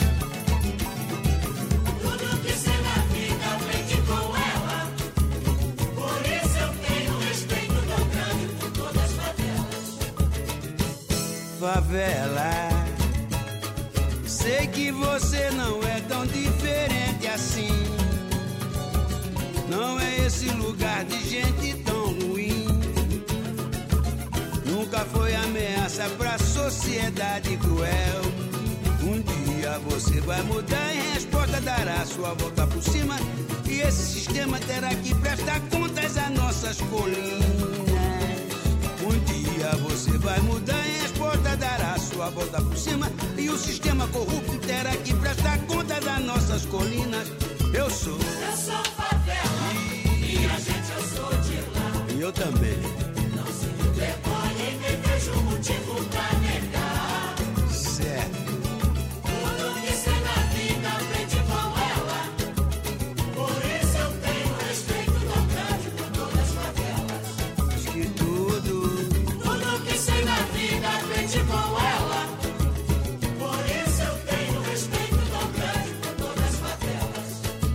Tudo que sei na vida aprendi com ela. Por isso eu tenho respeito tão grande por todas as favelas. Favela, sei que você não é tão diferente assim. Não é esse lugar de gente tão ruim. Nunca foi ameaça pra sociedade cruel. Um dia você vai mudar e resposta dará sua volta por cima. E esse sistema terá que prestar contas às nossas colinas. Um dia você vai mudar e a resposta dará sua volta por cima. E o sistema corrupto terá que prestar conta das nossas colinas. Eu sou favela, minha gente, eu sou de lá. E eu também. Não sinto vergonha e nem vejo motivo pra negar. Certo. Tudo que sei na vida aprendi com ela. Por isso eu tenho respeito tão grande por todas as favelas. Diz que tudo que sei na vida aprendi com ela. Por isso eu tenho respeito tão grande por todas as favelas.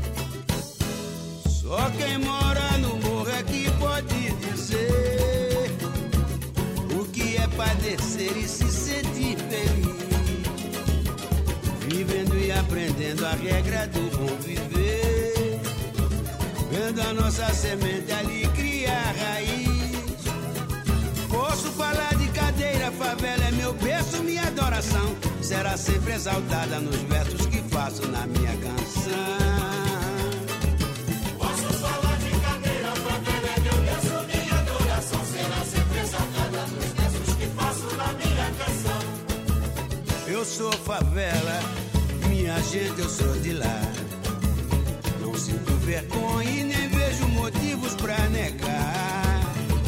Só quem mora no morro é que pode dizer o que é padecer e se sentir feliz, vivendo e aprendendo a regra do bom viver, vendo a nossa semente ali criar raiz. Posso falar de cadeira, favela é meu berço, minha adoração será sempre exaltada nos versos que faço na minha canção. Posso falar de cadeira, favela é meu berço, minha adoração será sempre exaltada nos versos que faço na minha canção. Eu sou favela, minha gente, eu sou de lá. Não sinto vergonha e nem vejo motivos pra negar.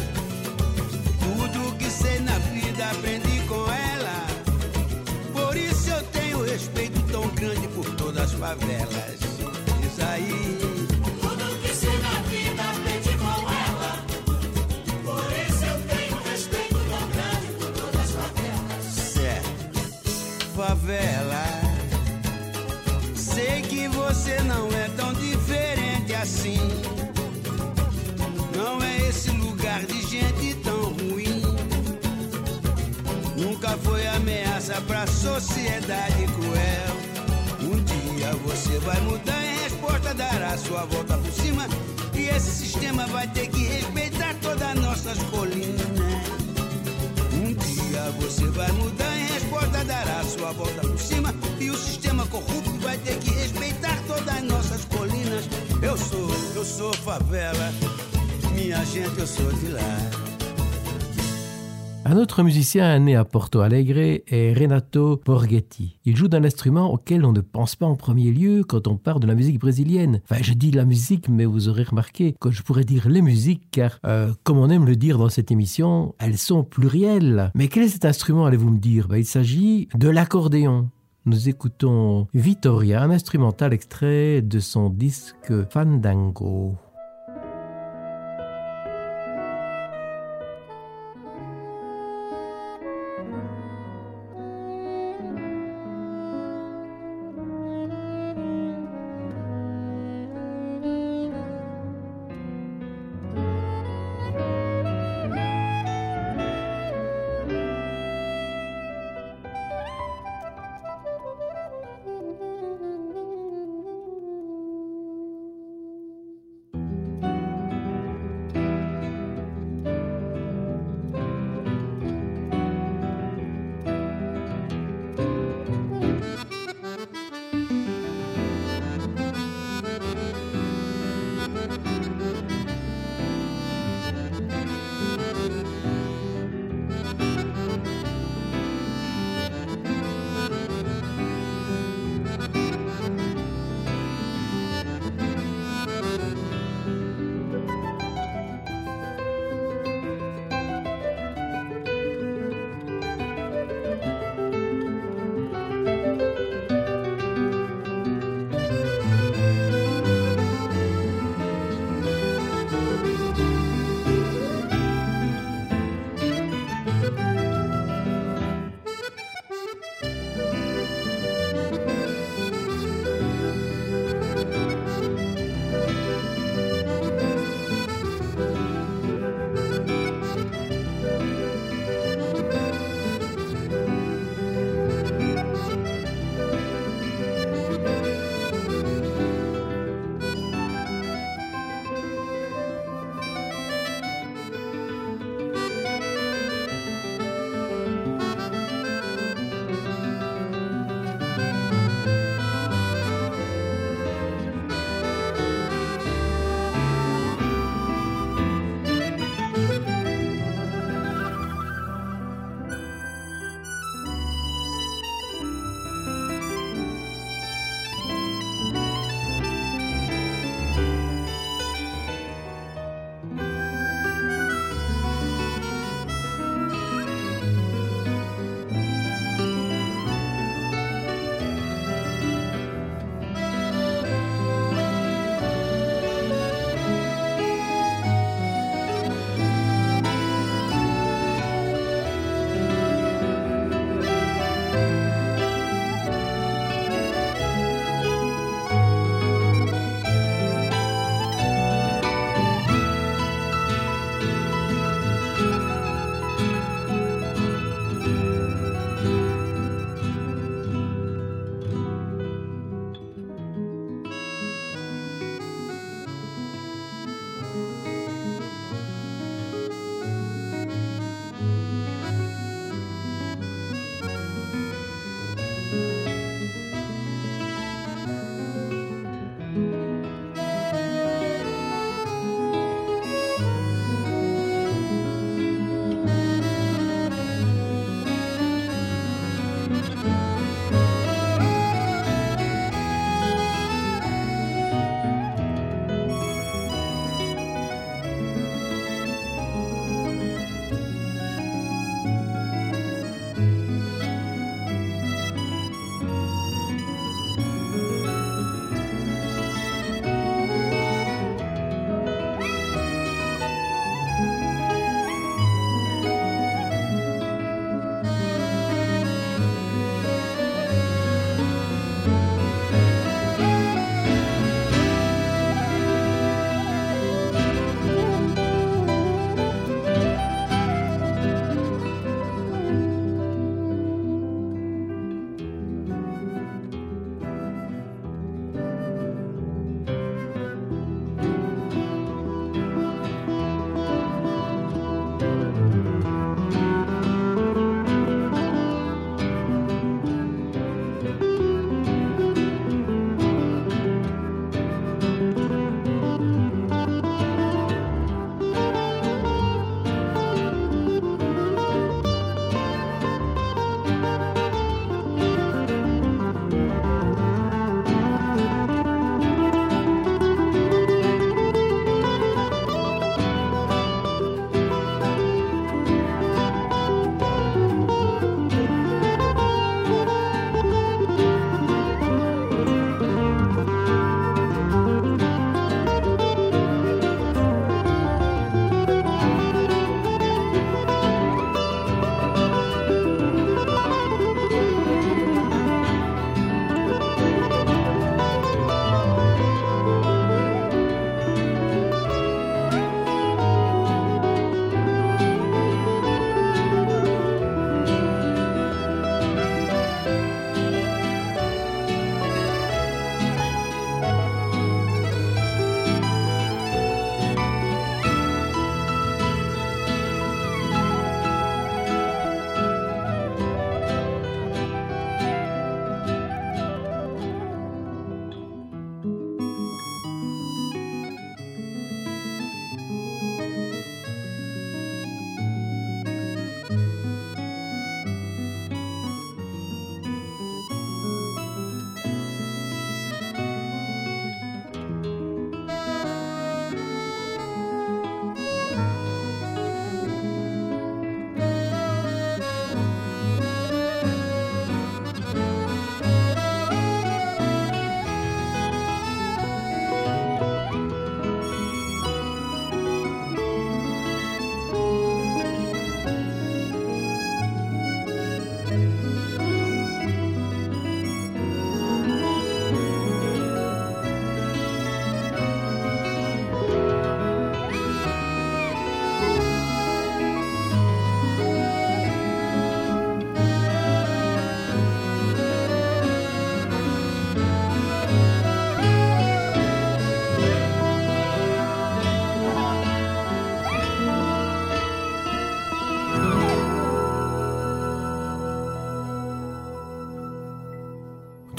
Tudo que sei na vida aprendi com ela. Por isso eu tenho respeito tão grande por todas as favelas. Diz aí. Tudo que sei na vida aprendi com ela. Por isso eu tenho respeito tão grande por todas as favelas. Certo. Favela, sei que você não é tão diferente assim. nunca foi ameaça pra sociedade cruel. Um dia você vai mudar, em resposta dará sua volta por cima. E esse sistema vai ter que respeitar todas as nossas colinas. Um dia você vai mudar, em resposta dará sua volta por cima. E o sistema corrupto vai ter que respeitar todas as nossas colinas. Eu sou favela, minha gente, eu sou de lá. Un autre musicien né à Porto Alegre est Renato Borghetti. Il joue d'un instrument auquel on ne pense pas en premier lieu quand on parle de la musique brésilienne. Enfin, je dis la musique, mais vous aurez remarqué que je pourrais dire les musiques, car, comme on aime le dire dans cette émission, elles sont plurielles. Mais quel est cet instrument, allez-vous me dire? Il s'agit de l'accordéon. Nous écoutons Vitoria, un instrumental extrait de son disque Fandango.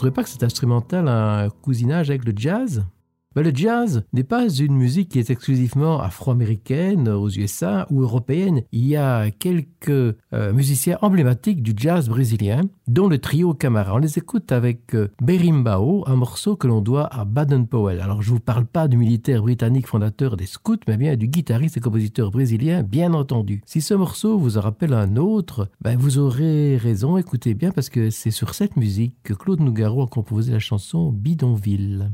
trouvez pas que cet instrumental a un cousinage avec le jazz ? Le jazz n'est pas une musique qui est exclusivement afro-américaine aux USA ou européenne. Il y a quelques musiciens emblématiques du jazz brésilien, dont le trio Camara. On les écoute avec Berimbau, un morceau que l'on doit à Baden-Powell. Alors je ne vous parle pas du militaire britannique fondateur des scouts, mais bien du guitariste et compositeur brésilien, bien entendu. Si ce morceau vous en rappelle un autre, vous aurez raison, écoutez bien, parce que c'est sur cette musique que Claude Nougaro a composé la chanson Bidonville.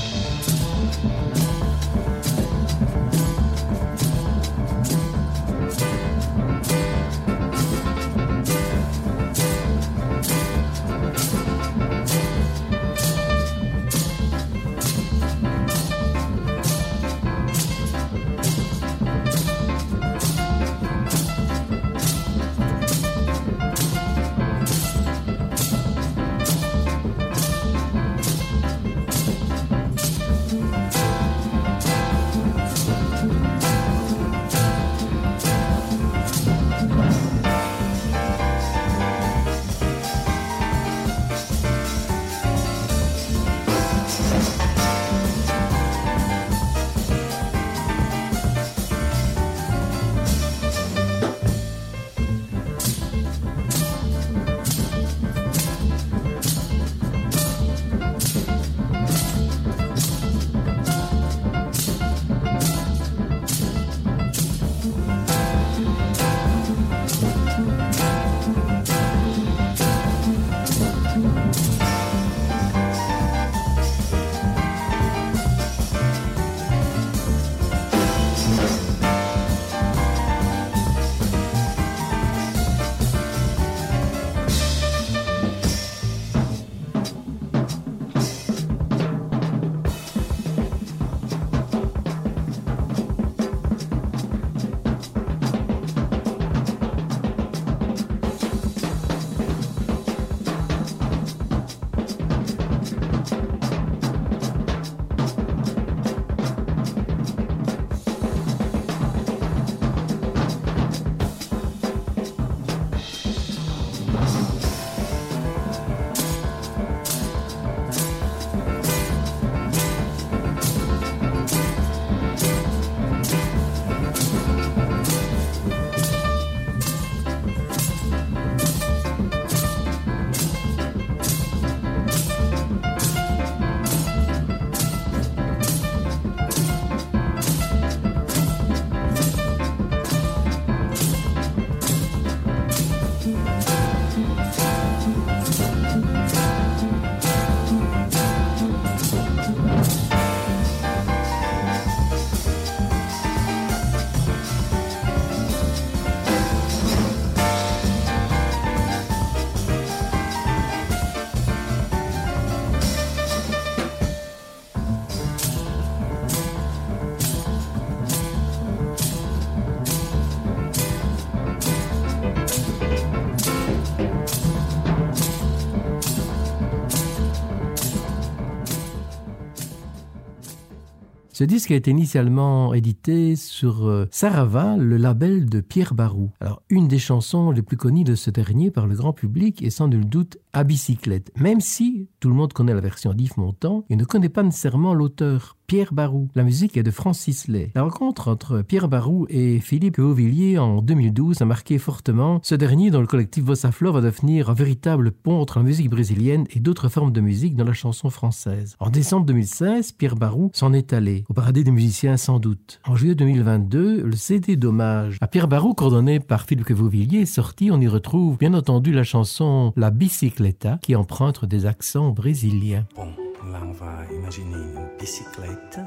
Ce disque a été initialement édité sur Sarava, le label de Pierre Barou. Alors, une des chansons les plus connues de ce dernier par le grand public est sans nul doute À bicyclette. Même si tout le monde connaît la version d'Yves Montand, il ne connaît pas nécessairement l'auteur, Pierre Barou. La musique est de Francis Lay. La rencontre entre Pierre Barou et Philippe Auvillier en 2012 a marqué fortement. Ce dernier, dont le collectif Bossa Flor, va devenir un véritable pont entre la musique brésilienne et d'autres formes de musique dans la chanson française. En décembre 2016, Pierre Barou s'en est allé, au paradis des musiciens sans doute. En juillet 2022, le CD d'hommage à Pierre Barou, coordonné par Philippe Auvillier, est sorti. On y retrouve bien entendu la chanson La Bicicleta, qui emprunte des accents brésiliens. Bon, là on va imaginer une bicyclette,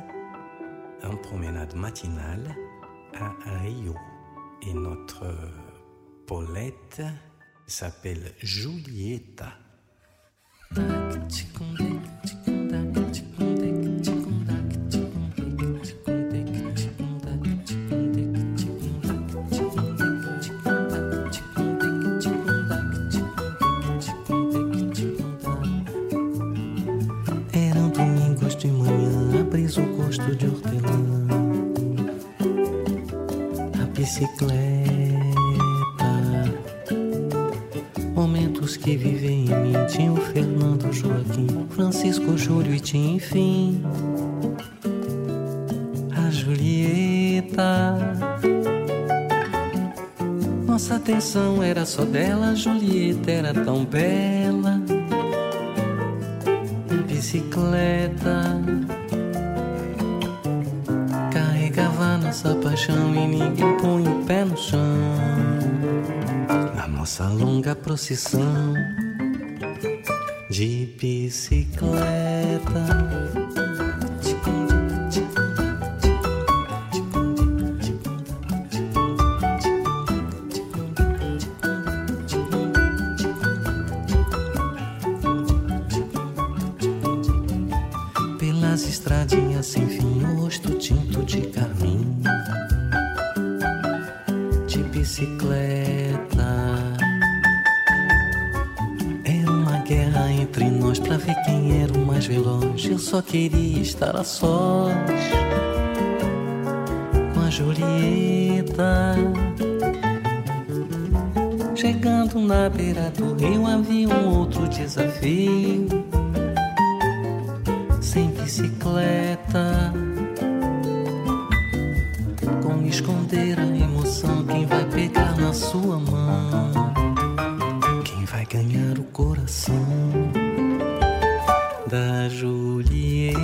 une promenade matinale à Rio. Et notre Paulette s'appelle Julieta. O gosto de hortelã, a bicicleta, momentos que vivem em mim. Tinha o Fernando, Joaquim, Francisco, Júlio e tinha, enfim, a Julieta. Nossa atenção era só dela, a Julieta era tão bela. Bicicleta carregava nossa paixão e ninguém põe o pé no chão. Na nossa longa procissão de bicicleta. Pelas estradinhas sem fim, o rosto tinto de carmim, de bicicleta. Era uma guerra entre nós pra ver quem era o mais veloz. Eu só queria estar a sós com a Julieta. Chegando na beira do rio havia um outro desafio. Sem bicicleta, como esconder a emoção? Quem vai pegar na sua mão? Quem vai ganhar o coração da Julieta?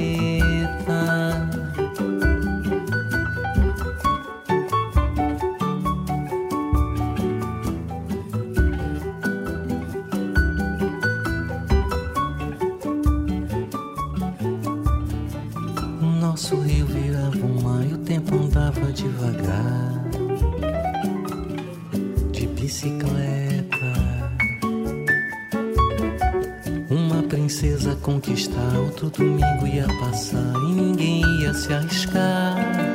Nosso rio virava um mar e o tempo andava devagar, de bicicleta. Uma princesa conquistar, outro domingo ia passar e ninguém ia se arriscar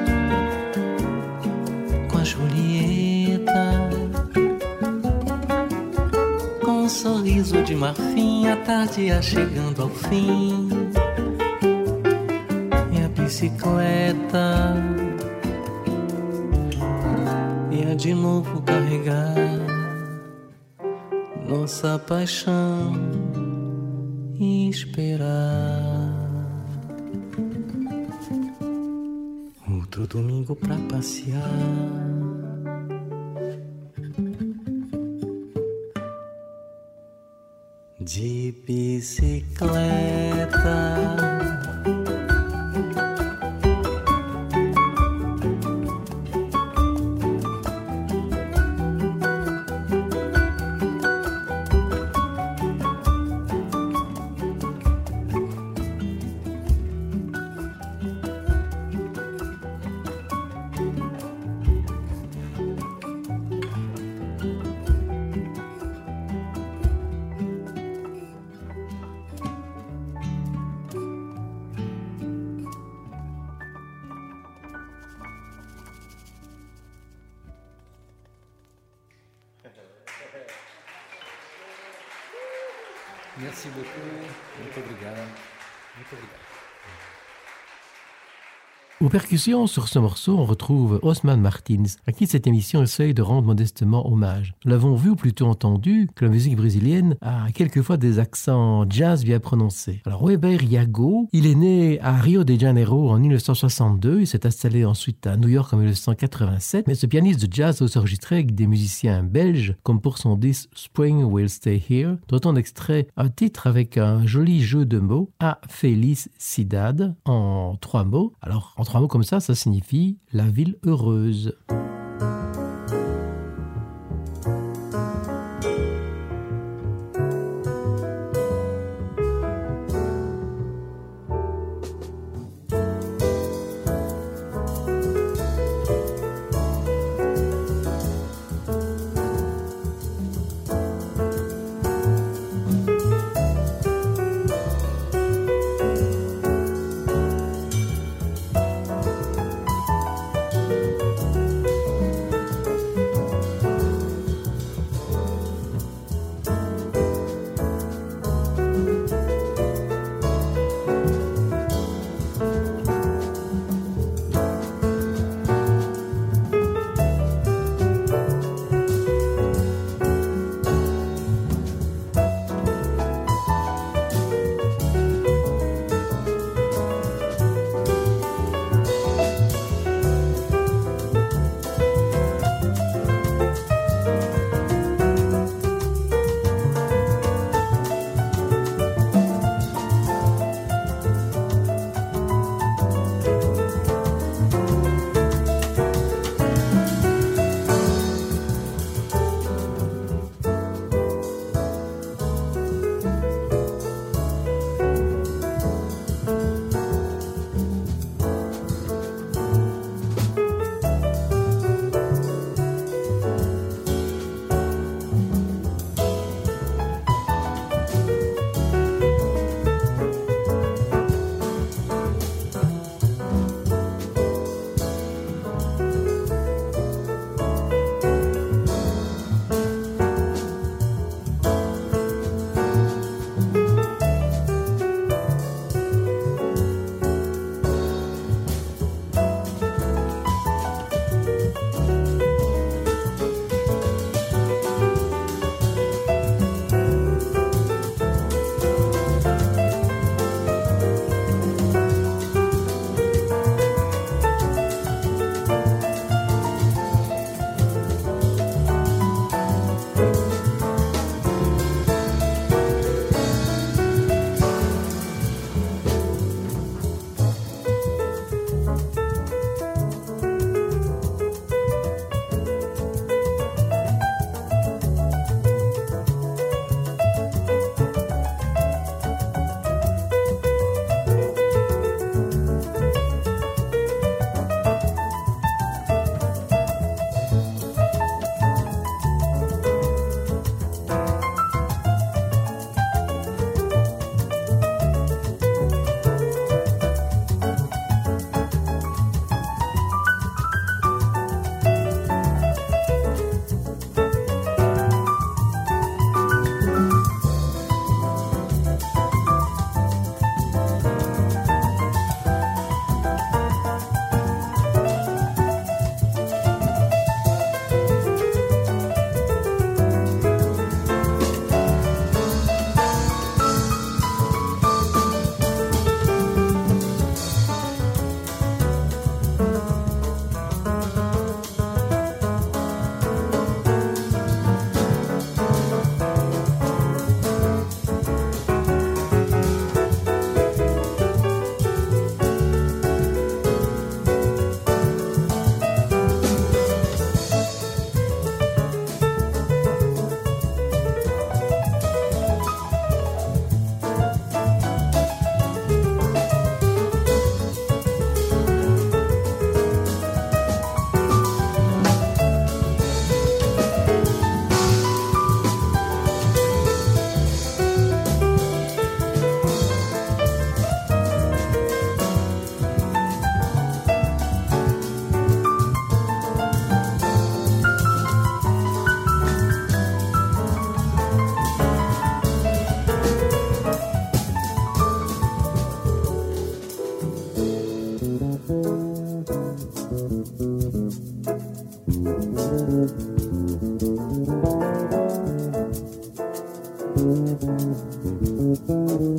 com a Julieta. Com um sorriso de marfim, a tarde ia chegando ao fim. Bicicleta ia de novo carregar nossa paixão e esperar outro domingo pra passear. De bicicleta. Merci beaucoup. Muito obrigado. Muito obrigado. Aux percussions, sur ce morceau, on retrouve Osman Martins, à qui cette émission essaye de rendre modestement hommage. Nous l'avons vu ou plutôt entendu que la musique brésilienne a quelquefois des accents jazz bien prononcés. Alors Weber Yago, il est né à Rio de Janeiro en 1962, il s'est installé ensuite à New York en 1987, mais ce pianiste de jazz a aussi enregistré avec des musiciens belges, comme pour son disque Spring Will Stay Here, dont on extrait un titre avec un joli jeu de mots, A Felicidade, en 3 mots. Alors, en 3 mots comme ça signifie la ville heureuse.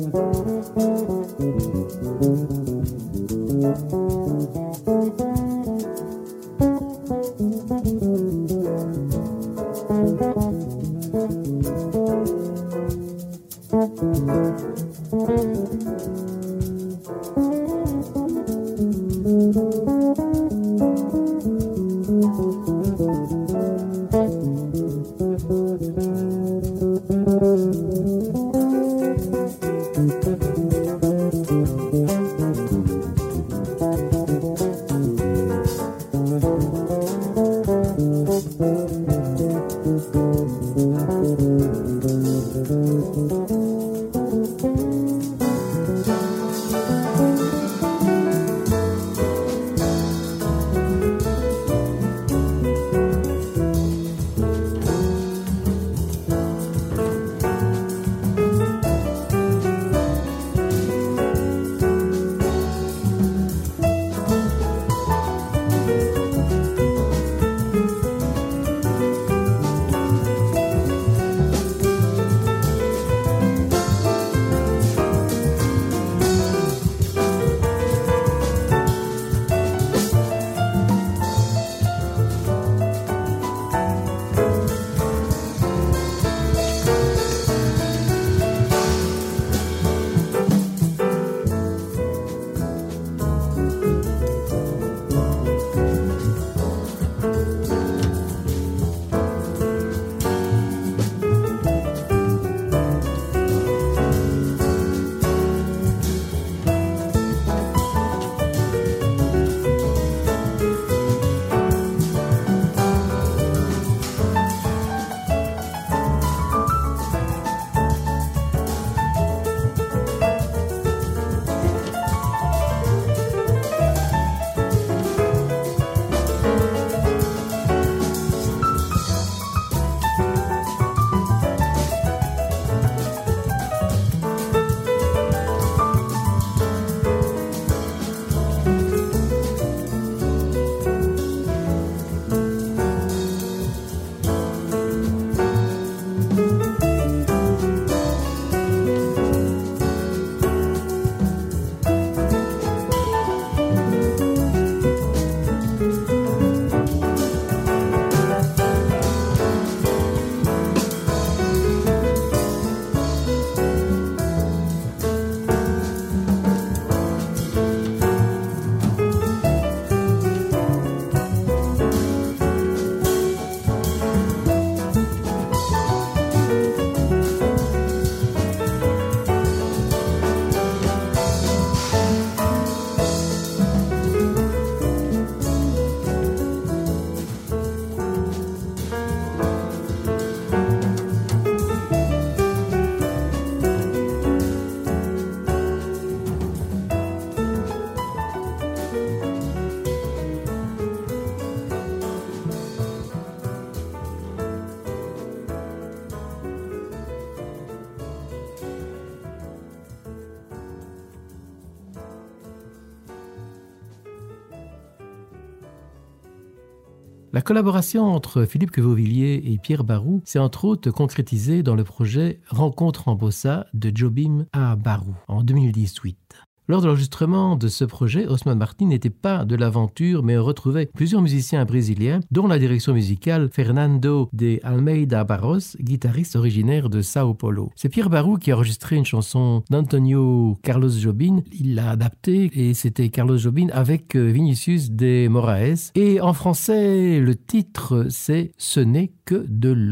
La collaboration entre Philippe Quevaulvilliers et Pierre Barou s'est entre autres concrétisée dans le projet Rencontre en Bossa de Jobim à Barou en 2018. Lors de l'enregistrement de ce projet, Osman Martin n'était pas de l'aventure, mais retrouvait plusieurs musiciens brésiliens, dont la direction musicale Fernando de Almeida Barros, guitariste originaire de Sao Paulo. C'est Pierre Barou qui a enregistré une chanson d'Antonio Carlos Jobim. Il l'a adaptée et c'était Carlos Jobim avec Vinicius de Moraes. Et en français, le titre c'est « Ce n'est que de l'eau ».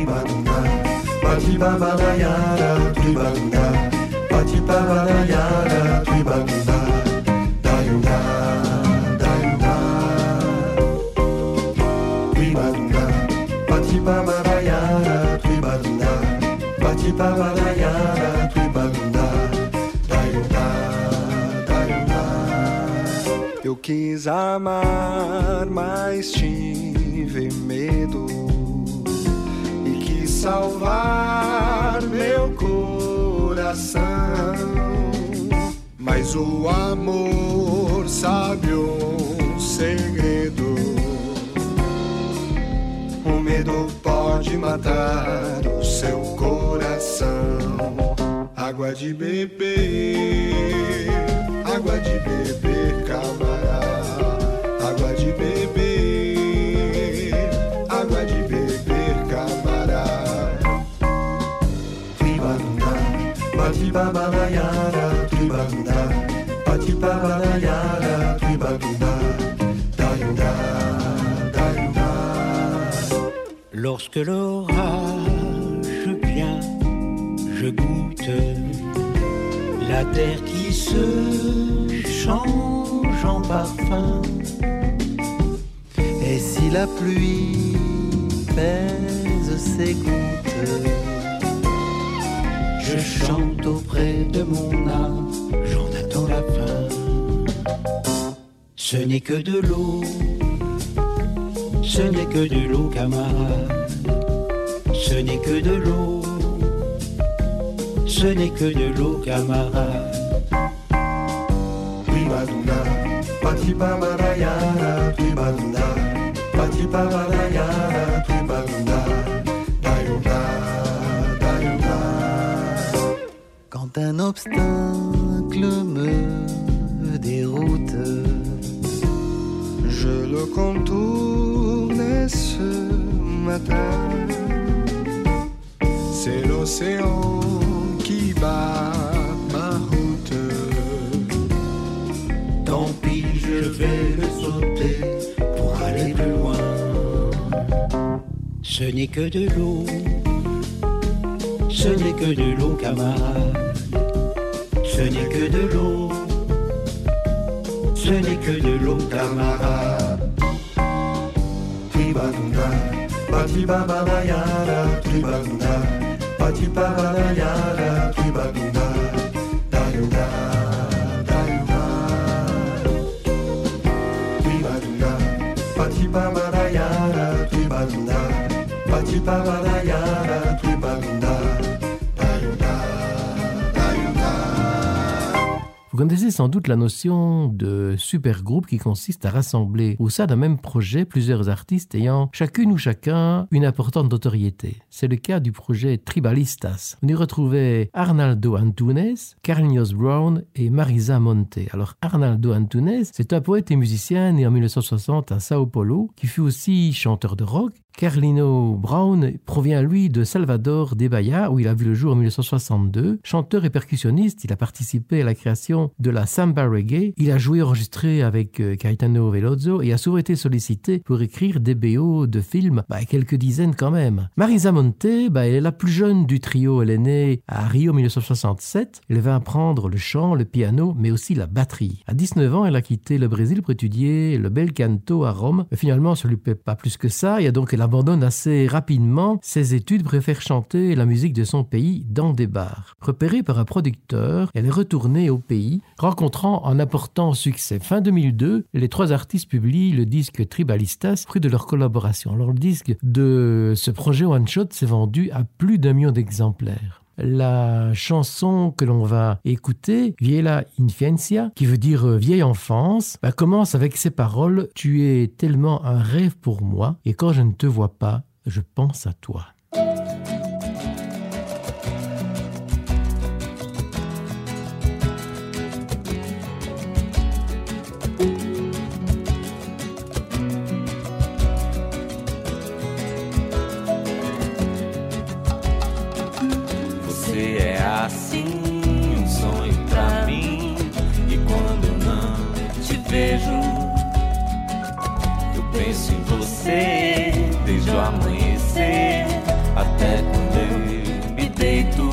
Patipabarayara, Tribagunda, Dayunga, Dayunga, Tribagunda, Patipabarayara, Tribagunda, Patipabarayara, Tribagunda, Dayunga, Dayunga. Eu quis amar, mas tive medo e quis salvar meu coração, mas o amor sabe um segredo. O medo pode matar o seu coração. água de beber, água de beber, camarada, água de beber, água de beber, camarada. Tribanda, batibabalayara, tribanda, batibabalayara, tribanda, dayunda, dayunda. Lorsque l'orage vient, je goûte la terre qui se change en parfum. Et si la pluie pèse ses gouttes, je chante auprès de mon âme, j'en attends la fin. Ce n'est que de l'eau, ce n'est que de l'eau, camarade. Ce n'est que de l'eau, ce n'est que de l'eau, camarade. Tribanda, batibabalayara, tribanda, batibabalayara, tribanda, dayunda, dayunda. Quand un obstacle me déroute, je le contourne ce matin. C'est l'océan qui bat ma route. Tant pis, je vais le sauter pour aller plus loin. Ce n'est que de l'eau, ce n'est que de l'eau, camarade. Ce n'est que de l'eau, ce n'est que de l'eau, camarade. Tribanda, batibabalayara, tribanda, batibabalayara, tribanda, dayunda, dayunda. Tribanda, batibabalayara, tribanda, batibabalayara, tribanda, dayunda, dayunda. Vous connaissez sans doute la notion de supergroupe qui consiste à rassembler au sein d'un même projet plusieurs artistes ayant chacune ou chacun une importante notoriété. C'est le cas du projet Tribalistas. On y retrouvait Arnaldo Antunes, Carlinhos Brown et Marisa Monte. Alors Arnaldo Antunes, c'est un poète et musicien né en 1960 à Sao Paulo qui fut aussi chanteur de rock. Carlinhos Brown provient, lui, de Salvador de Bahia, où il a vu le jour en 1962. Chanteur et percussionniste, il a participé à la création de la samba reggae. Il a joué et enregistré avec Caetano Veloso et a souvent été sollicité pour écrire des BO de films, quelques dizaines quand même. Marisa Monte, elle est la plus jeune du trio. Elle est née à Rio en 1967. Elle va apprendre le chant, le piano, mais aussi la batterie. À 19 ans, elle a quitté le Brésil pour étudier le bel canto à Rome. Mais finalement, ça ne lui plaît pas plus que ça. Et donc, elle abandonne assez rapidement ses études, préfère chanter la musique de son pays dans des bars. Repérée par un producteur, elle est retournée au pays, rencontrant un important succès. Fin 2002, les trois artistes publient le disque Tribalistas, fruit de leur collaboration. Alors, le disque de ce projet One Shot s'est vendu à plus d'1 million d'exemplaires. La chanson que l'on va écouter, Vieja Infancia, qui veut dire vieille enfance, commence avec ces paroles « Tu es tellement un rêve pour moi, et quand je ne te vois pas, je pense à toi ». Assim, sonho pra mim. E quando eu não te vejo, eu penso em você desde o amanhecer até quando eu me deito.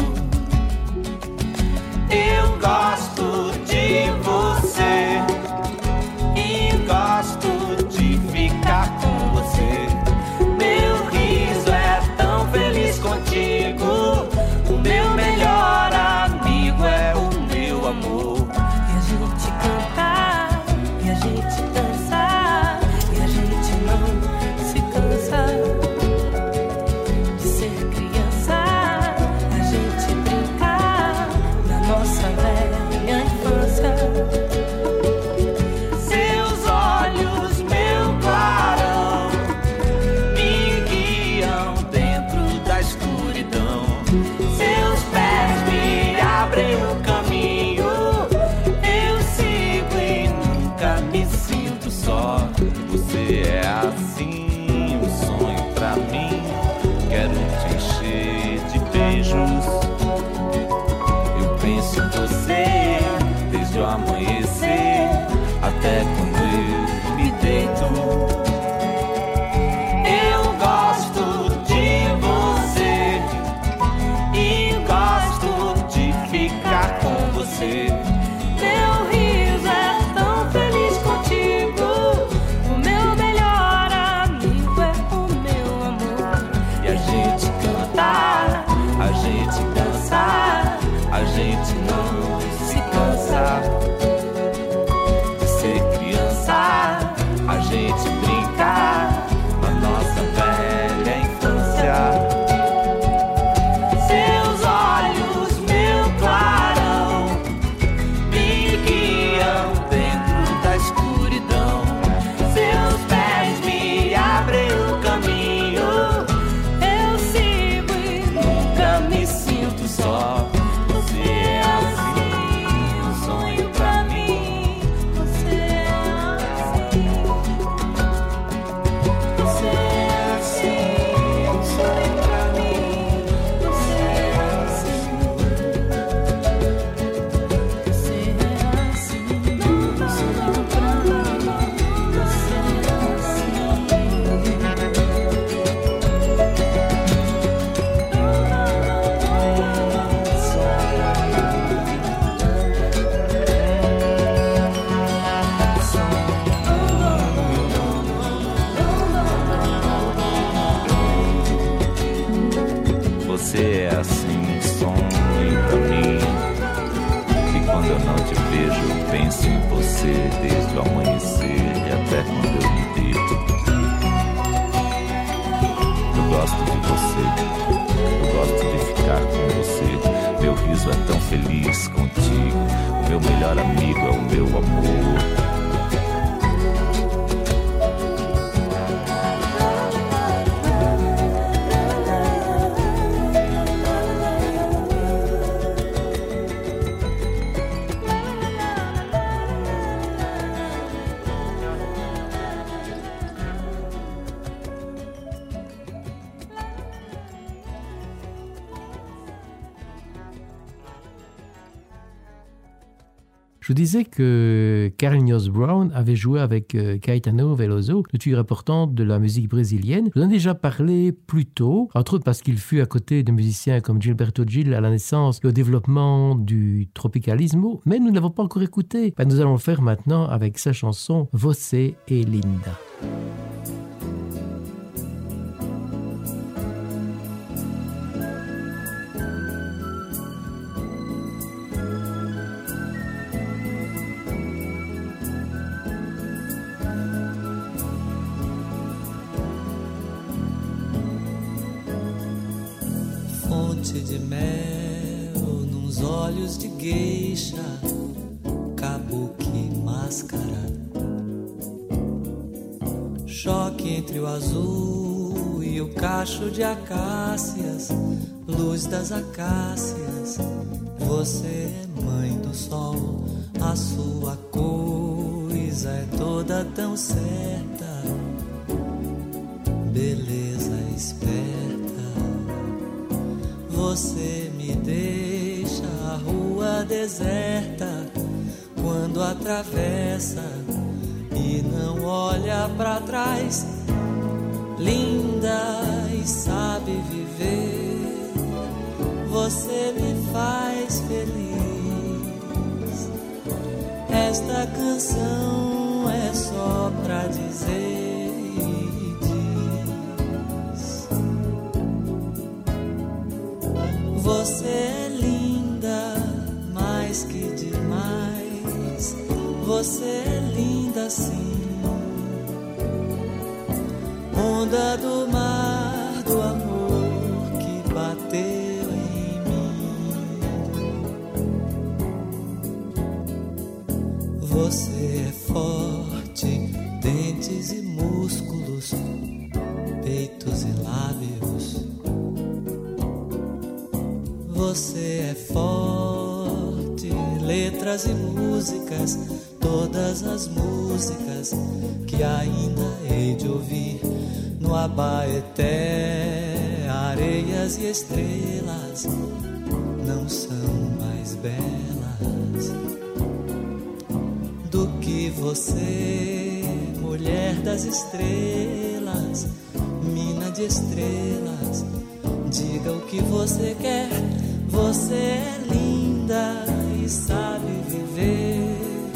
Eu gosto de você e gosto de ficar com você. Meu riso é tão feliz contigo. O meu melhor amigo é o meu amor. E a gente cantar, e a gente dançar, e a gente não se cansa de ser criança. A gente brincar na nossa velha infância. Seus olhos, meu clarão, me guiam dentro da escuridão. Seus pés me abrem quando eu não te vejo, eu penso em você desde o amanhecer e até quando eu me deito. Eu gosto de você, eu gosto de ficar com você. Meu riso é tão feliz contigo, o meu melhor amigo é o meu amor. Je vous disais que Carlinhos Brown avait joué avec Caetano Veloso, le figure importante de la musique brésilienne. Je vous en ai déjà parlé plus tôt, entre autres parce qu'il fut à côté de musiciens comme Gilberto Gil à la naissance et au développement du tropicalismo, mais nous ne l'avons pas encore écouté. Nous allons le faire maintenant avec sa chanson Você é Linda. Fonte de mel nos olhos de geisha, kabuki máscara, choque entre o azul e o cacho de acácias, luz das acácias. Você é mãe do sol, a sua coisa é toda tão certa, beleza esperta. Você me deixa a rua deserta quando atravessa e não olha pra trás. Linda e sabe viver, você me faz feliz. Esta canção é só pra dizer. Você é linda, mais que demais. Você é linda sim. Onda do mar, do amor que bateu em mim. Você é forte, dentes e músculos, peitos e lábios. Você é forte, letras e músicas, todas as músicas que ainda hei de ouvir no Abaeté. Areias e estrelas não são mais belas do que você, mulher das estrelas, mina de estrelas. Diga o que você quer. Você é linda e sabe viver.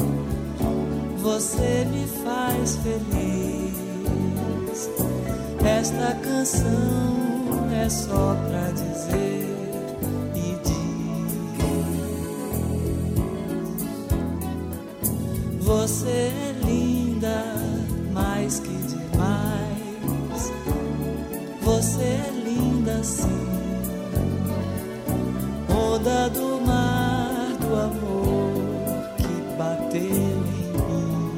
Você me faz feliz. Esta canção é só pra dizer e diz. Você é linda, mais que demais. Você é linda sim. Onda do mar, do amor que bateu em mim.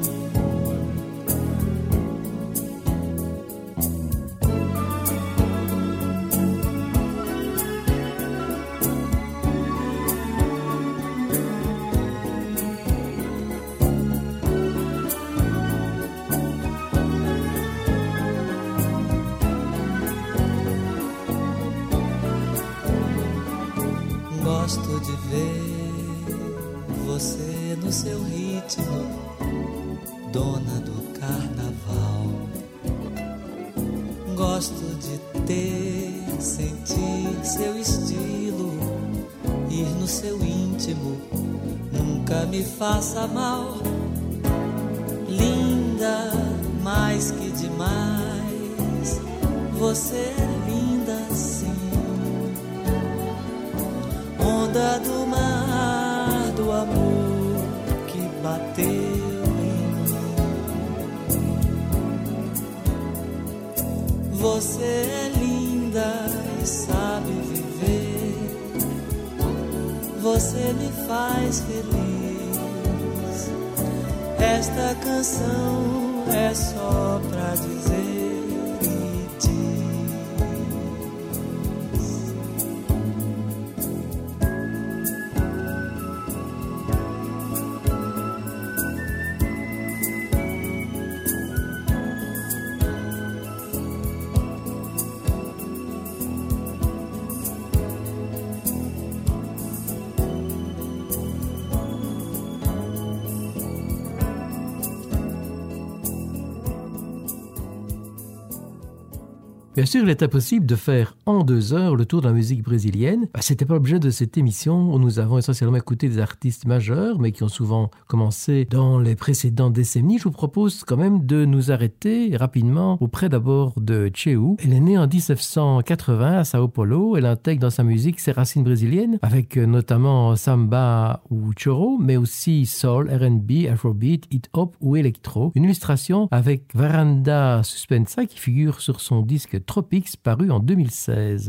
Gosto de ver você no seu ritmo, dona do carnaval. Gosto de ter, sentir seu estilo, ir no seu íntimo, nunca me faça mal. Linda, mais que demais, você é linda sim. Onda do mar, do amor bateu em mim. Você é linda e sabe viver. Você me faz feliz. Esta canção é só pra dizer e diz. Bien sûr, il était possible de faire en 2 heures le tour de la musique brésilienne. C'était pas l'objet de cette émission où nous avons essentiellement écouté des artistes majeurs, mais qui ont souvent commencé dans les précédentes décennies. Je vous propose quand même de nous arrêter rapidement auprès d'abord de Tcheu. Elle est née en 1980 à Sao Paulo. Elle intègre dans sa musique ses racines brésiliennes, avec notamment samba ou choro, mais aussi soul, R&B, afrobeat, hip-hop ou électro. Une illustration avec Varanda Suspensa qui figure sur son disque Tropics paru en 2016.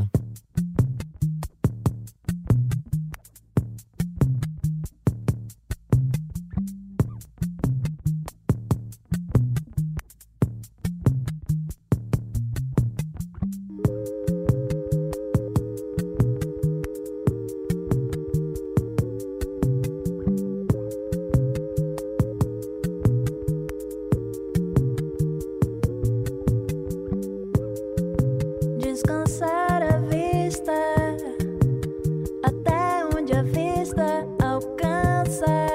Descansar a vista até onde a vista alcança,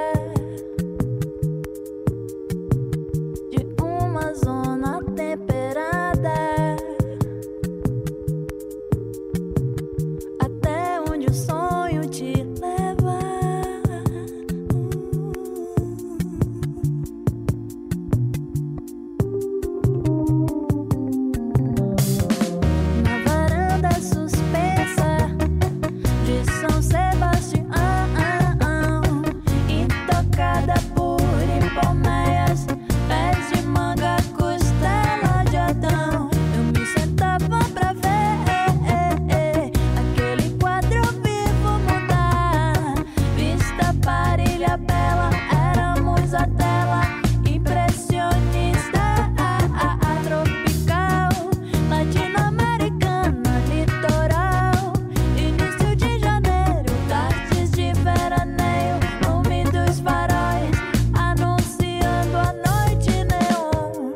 de uma zona temperada até onde o sonho te leva. Suspensa de São Sebastião, intocada por hipomeias, pés de manga, costela de Adão. Eu me sentava pra ver aquele quadro vivo mudar. Vista parilha bela, éramos a tela impressionista, tropical, latino-americana. Litoral, início de janeiro, tardes de veraneio, úmidos faróis, anunciando a noite neon.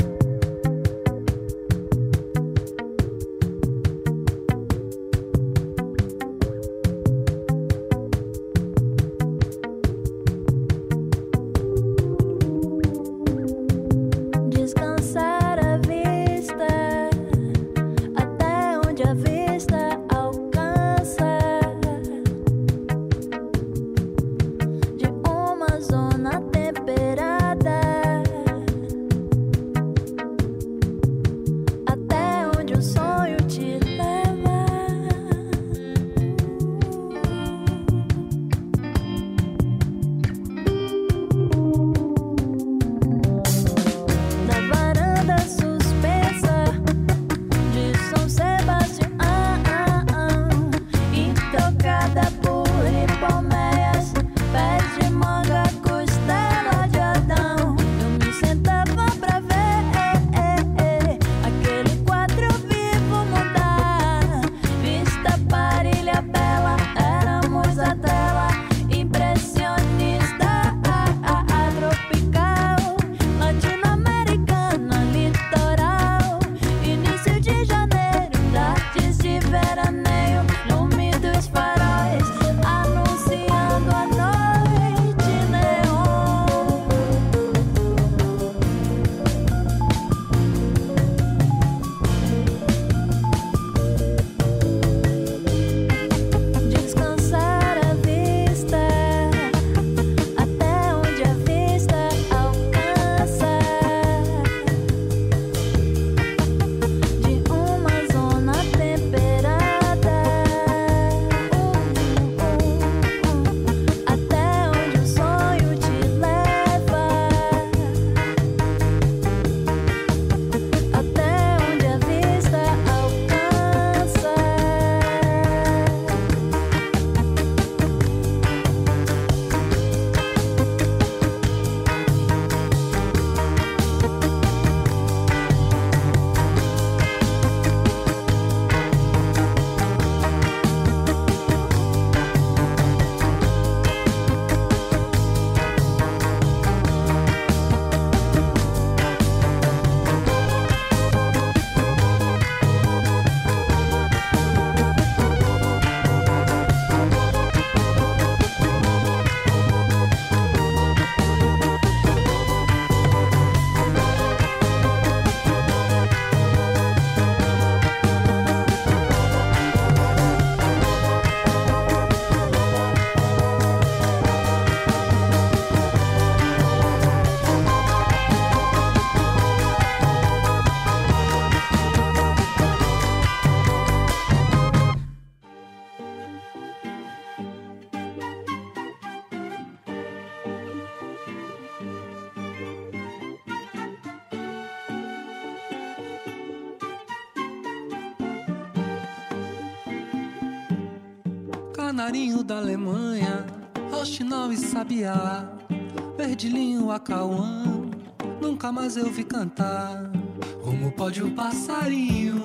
canarinho da Alemanha, roxinol e sabiá, verdilhinho, acauã, nunca mais eu vi cantar. Como pode o passarinho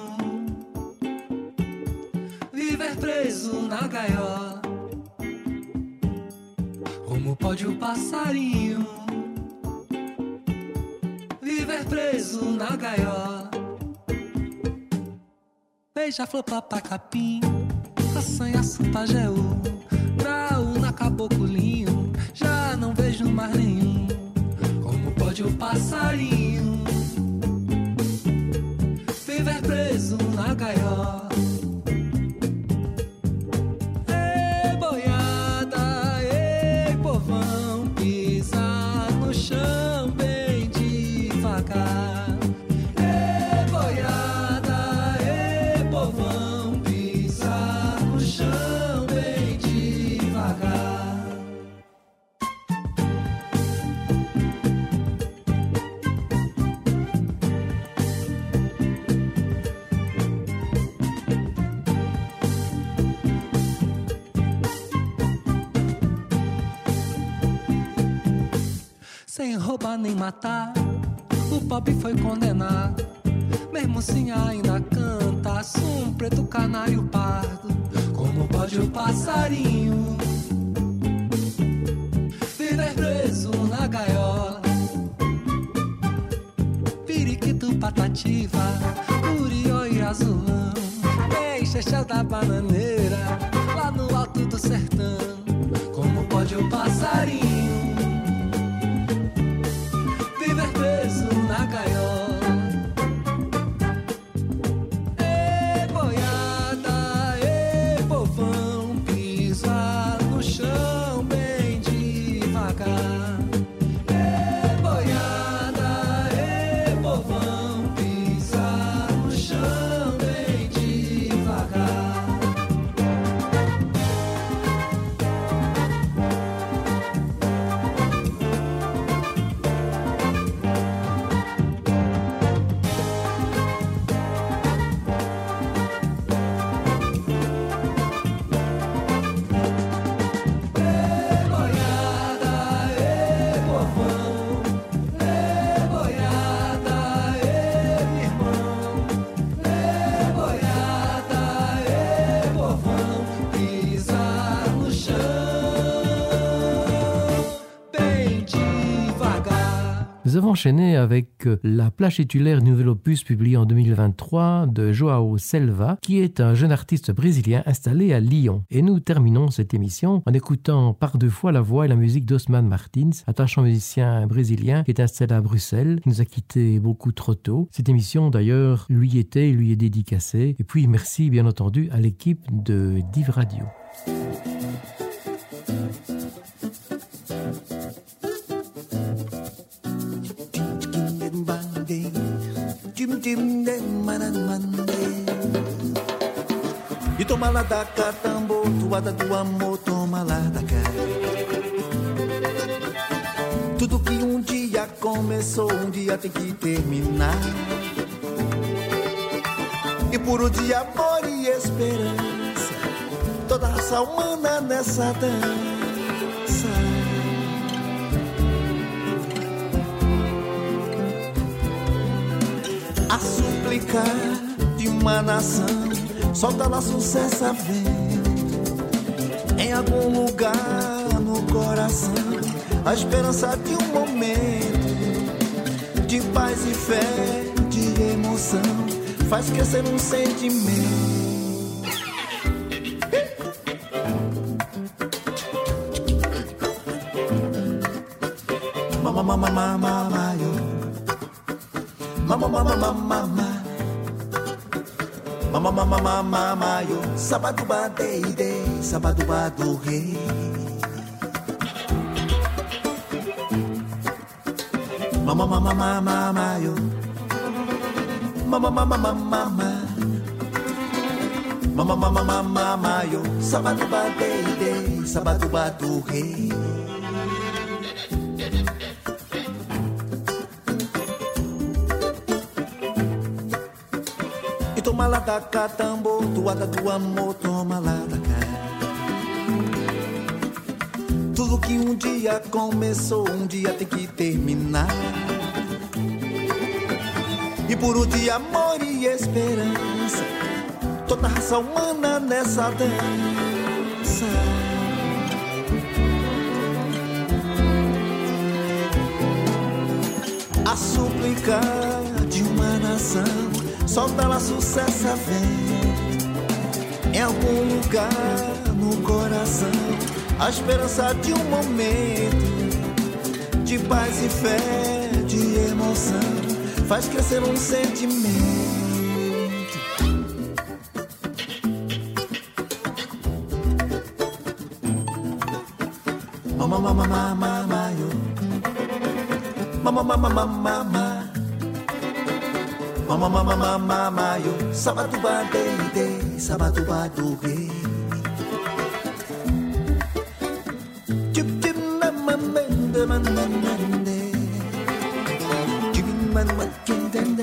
viver preso na gaiola? Como pode o passarinho viver preso na gaiola? Beija-flor, papacapim, assanhaço, pajeú, graúna, caboclinho, já não vejo mais nenhum. Como pode o passarinho viver preso na gaiola? Ei, boiada, ei, povão, pisa no chão bem devagar. Ei, boiada, ei, povão, pisa no chão bem devagar. Sem roubar nem matar, o pobre foi condenado. Mesmo assim ainda canta, um preto canário pardo. Como pode o passarinho viver preso na gaiola? Periquito, patativa, curió e azulão, deixa chão da bananeira, lá no alto do sertão. Como pode o passarinho viver preso na gaiola? Ei, boiada, ei, povão, pisa no chão bem devagar. Ei, boiada, ei, povão, pisa no chão bem devagar. Nous avons enchaîné avec la plage titulaire nouvel opus publié en 2023 de Joao Selva, qui est un jeune artiste brésilien installé à Lyon. Et nous terminons cette émission en écoutant par deux fois la voix et la musique d'Osman Martins, attachant musicien brésilien qui est installé à Bruxelles, qui nous a quittés beaucoup trop tôt. Cette émission d'ailleurs lui est dédicacée. Et puis merci bien entendu à l'équipe de Div Radio. E toma lá da cá, tambor, toada do amor, toma lá da cá. Tudo que um dia começou, um dia tem que terminar. E puro de amor e esperança, toda a raça humana nessa dança. A suplicar de uma nação, solta lá sucesso a vento. Em algum lugar no coração, a esperança de um momento de paz e fé, de emoção, faz crescer um sentimento. Mama, mama, mama, mama, mama, mama, mama, mama. Mama, mama, mama, mama, yo. Sabado badeide, sabado badurre. Mama, mama, mama, mama, yo. Mama, mama, mama, mama. Mama, mama, mama, mama, yo. Sabado badeide, sabado badurre. E toma lá da cá, tambor, toada do amor, toma lá da cá. que um dia começou, um dia tem que terminar. E por um dia amor e esperança, toda a raça humana nessa dança. A súplica de uma nação, solta lá sucesso a vento. Em algum lugar no coração, a esperança de um momento de paz e fé, de emoção, faz crescer um sentimento. Mama, mama, mama, mama, yo. Mama, mama, mama, mama. Mama, mama, mama, mama, yo. Sabatuba, de, sabatuba, do, rei. Chip, chip, na, man, de, man, de. Chip, man, man, de.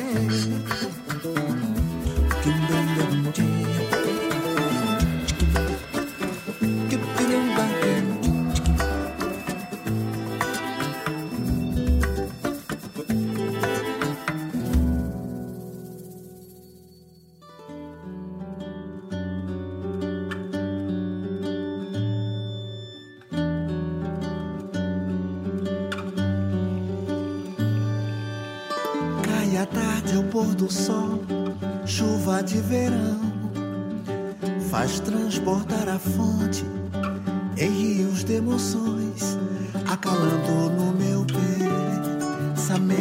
Cai a tarde ao pôr do sol, chuva de verão, faz transportar a fonte em rios de emoções, acalando no meu pensamento.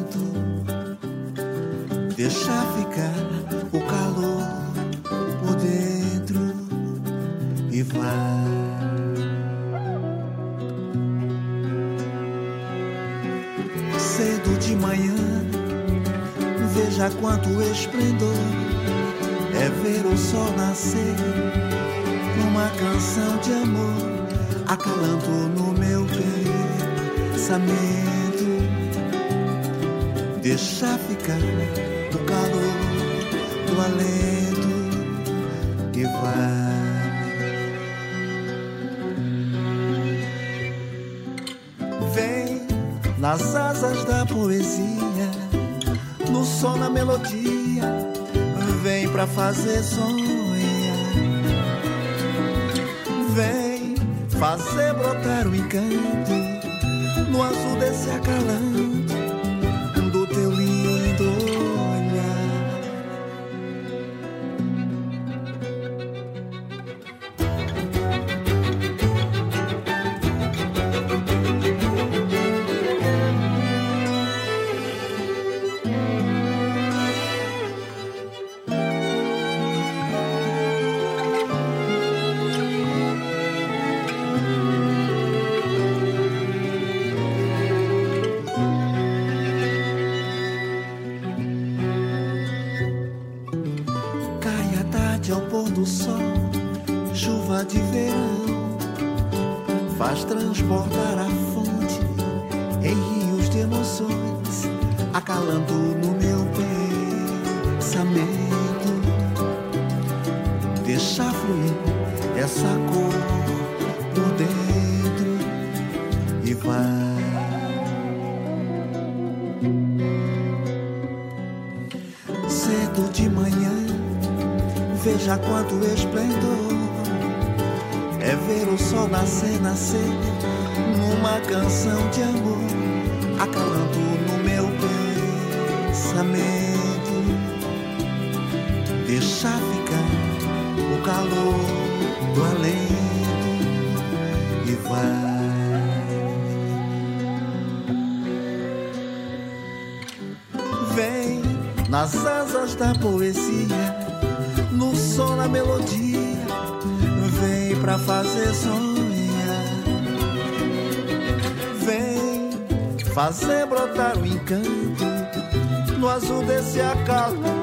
Deixa ficar o calor por dentro e vai. Cedo de manhã, veja quanto esplendor é ver o sol nascer numa canção de amor, acalando no meu pensamento. Deixa ficar o calor do alento e vai. Vem nas asas da poesia, no som, na melodia, vem pra fazer sonhar. Vem fazer brotar o encanto no azul desse acalanto do teu lindo olhar. Ao pôr do sol, chuva de verão, faz transportar a fonte em rios de emoções, acalando no meu pensamento. Deixa fluir essa cor por dentro e vai. Cedo de manhã, veja quanto esplendor é ver o sol nascer, nascer numa canção de amor, acalando no meu pensamento. Deixa ficar o calor do alento e vai. Vem nas asas da poesia, no som, na melodia, vem pra fazer sonhar. Vem fazer brotar o encanto no azul desse acalanto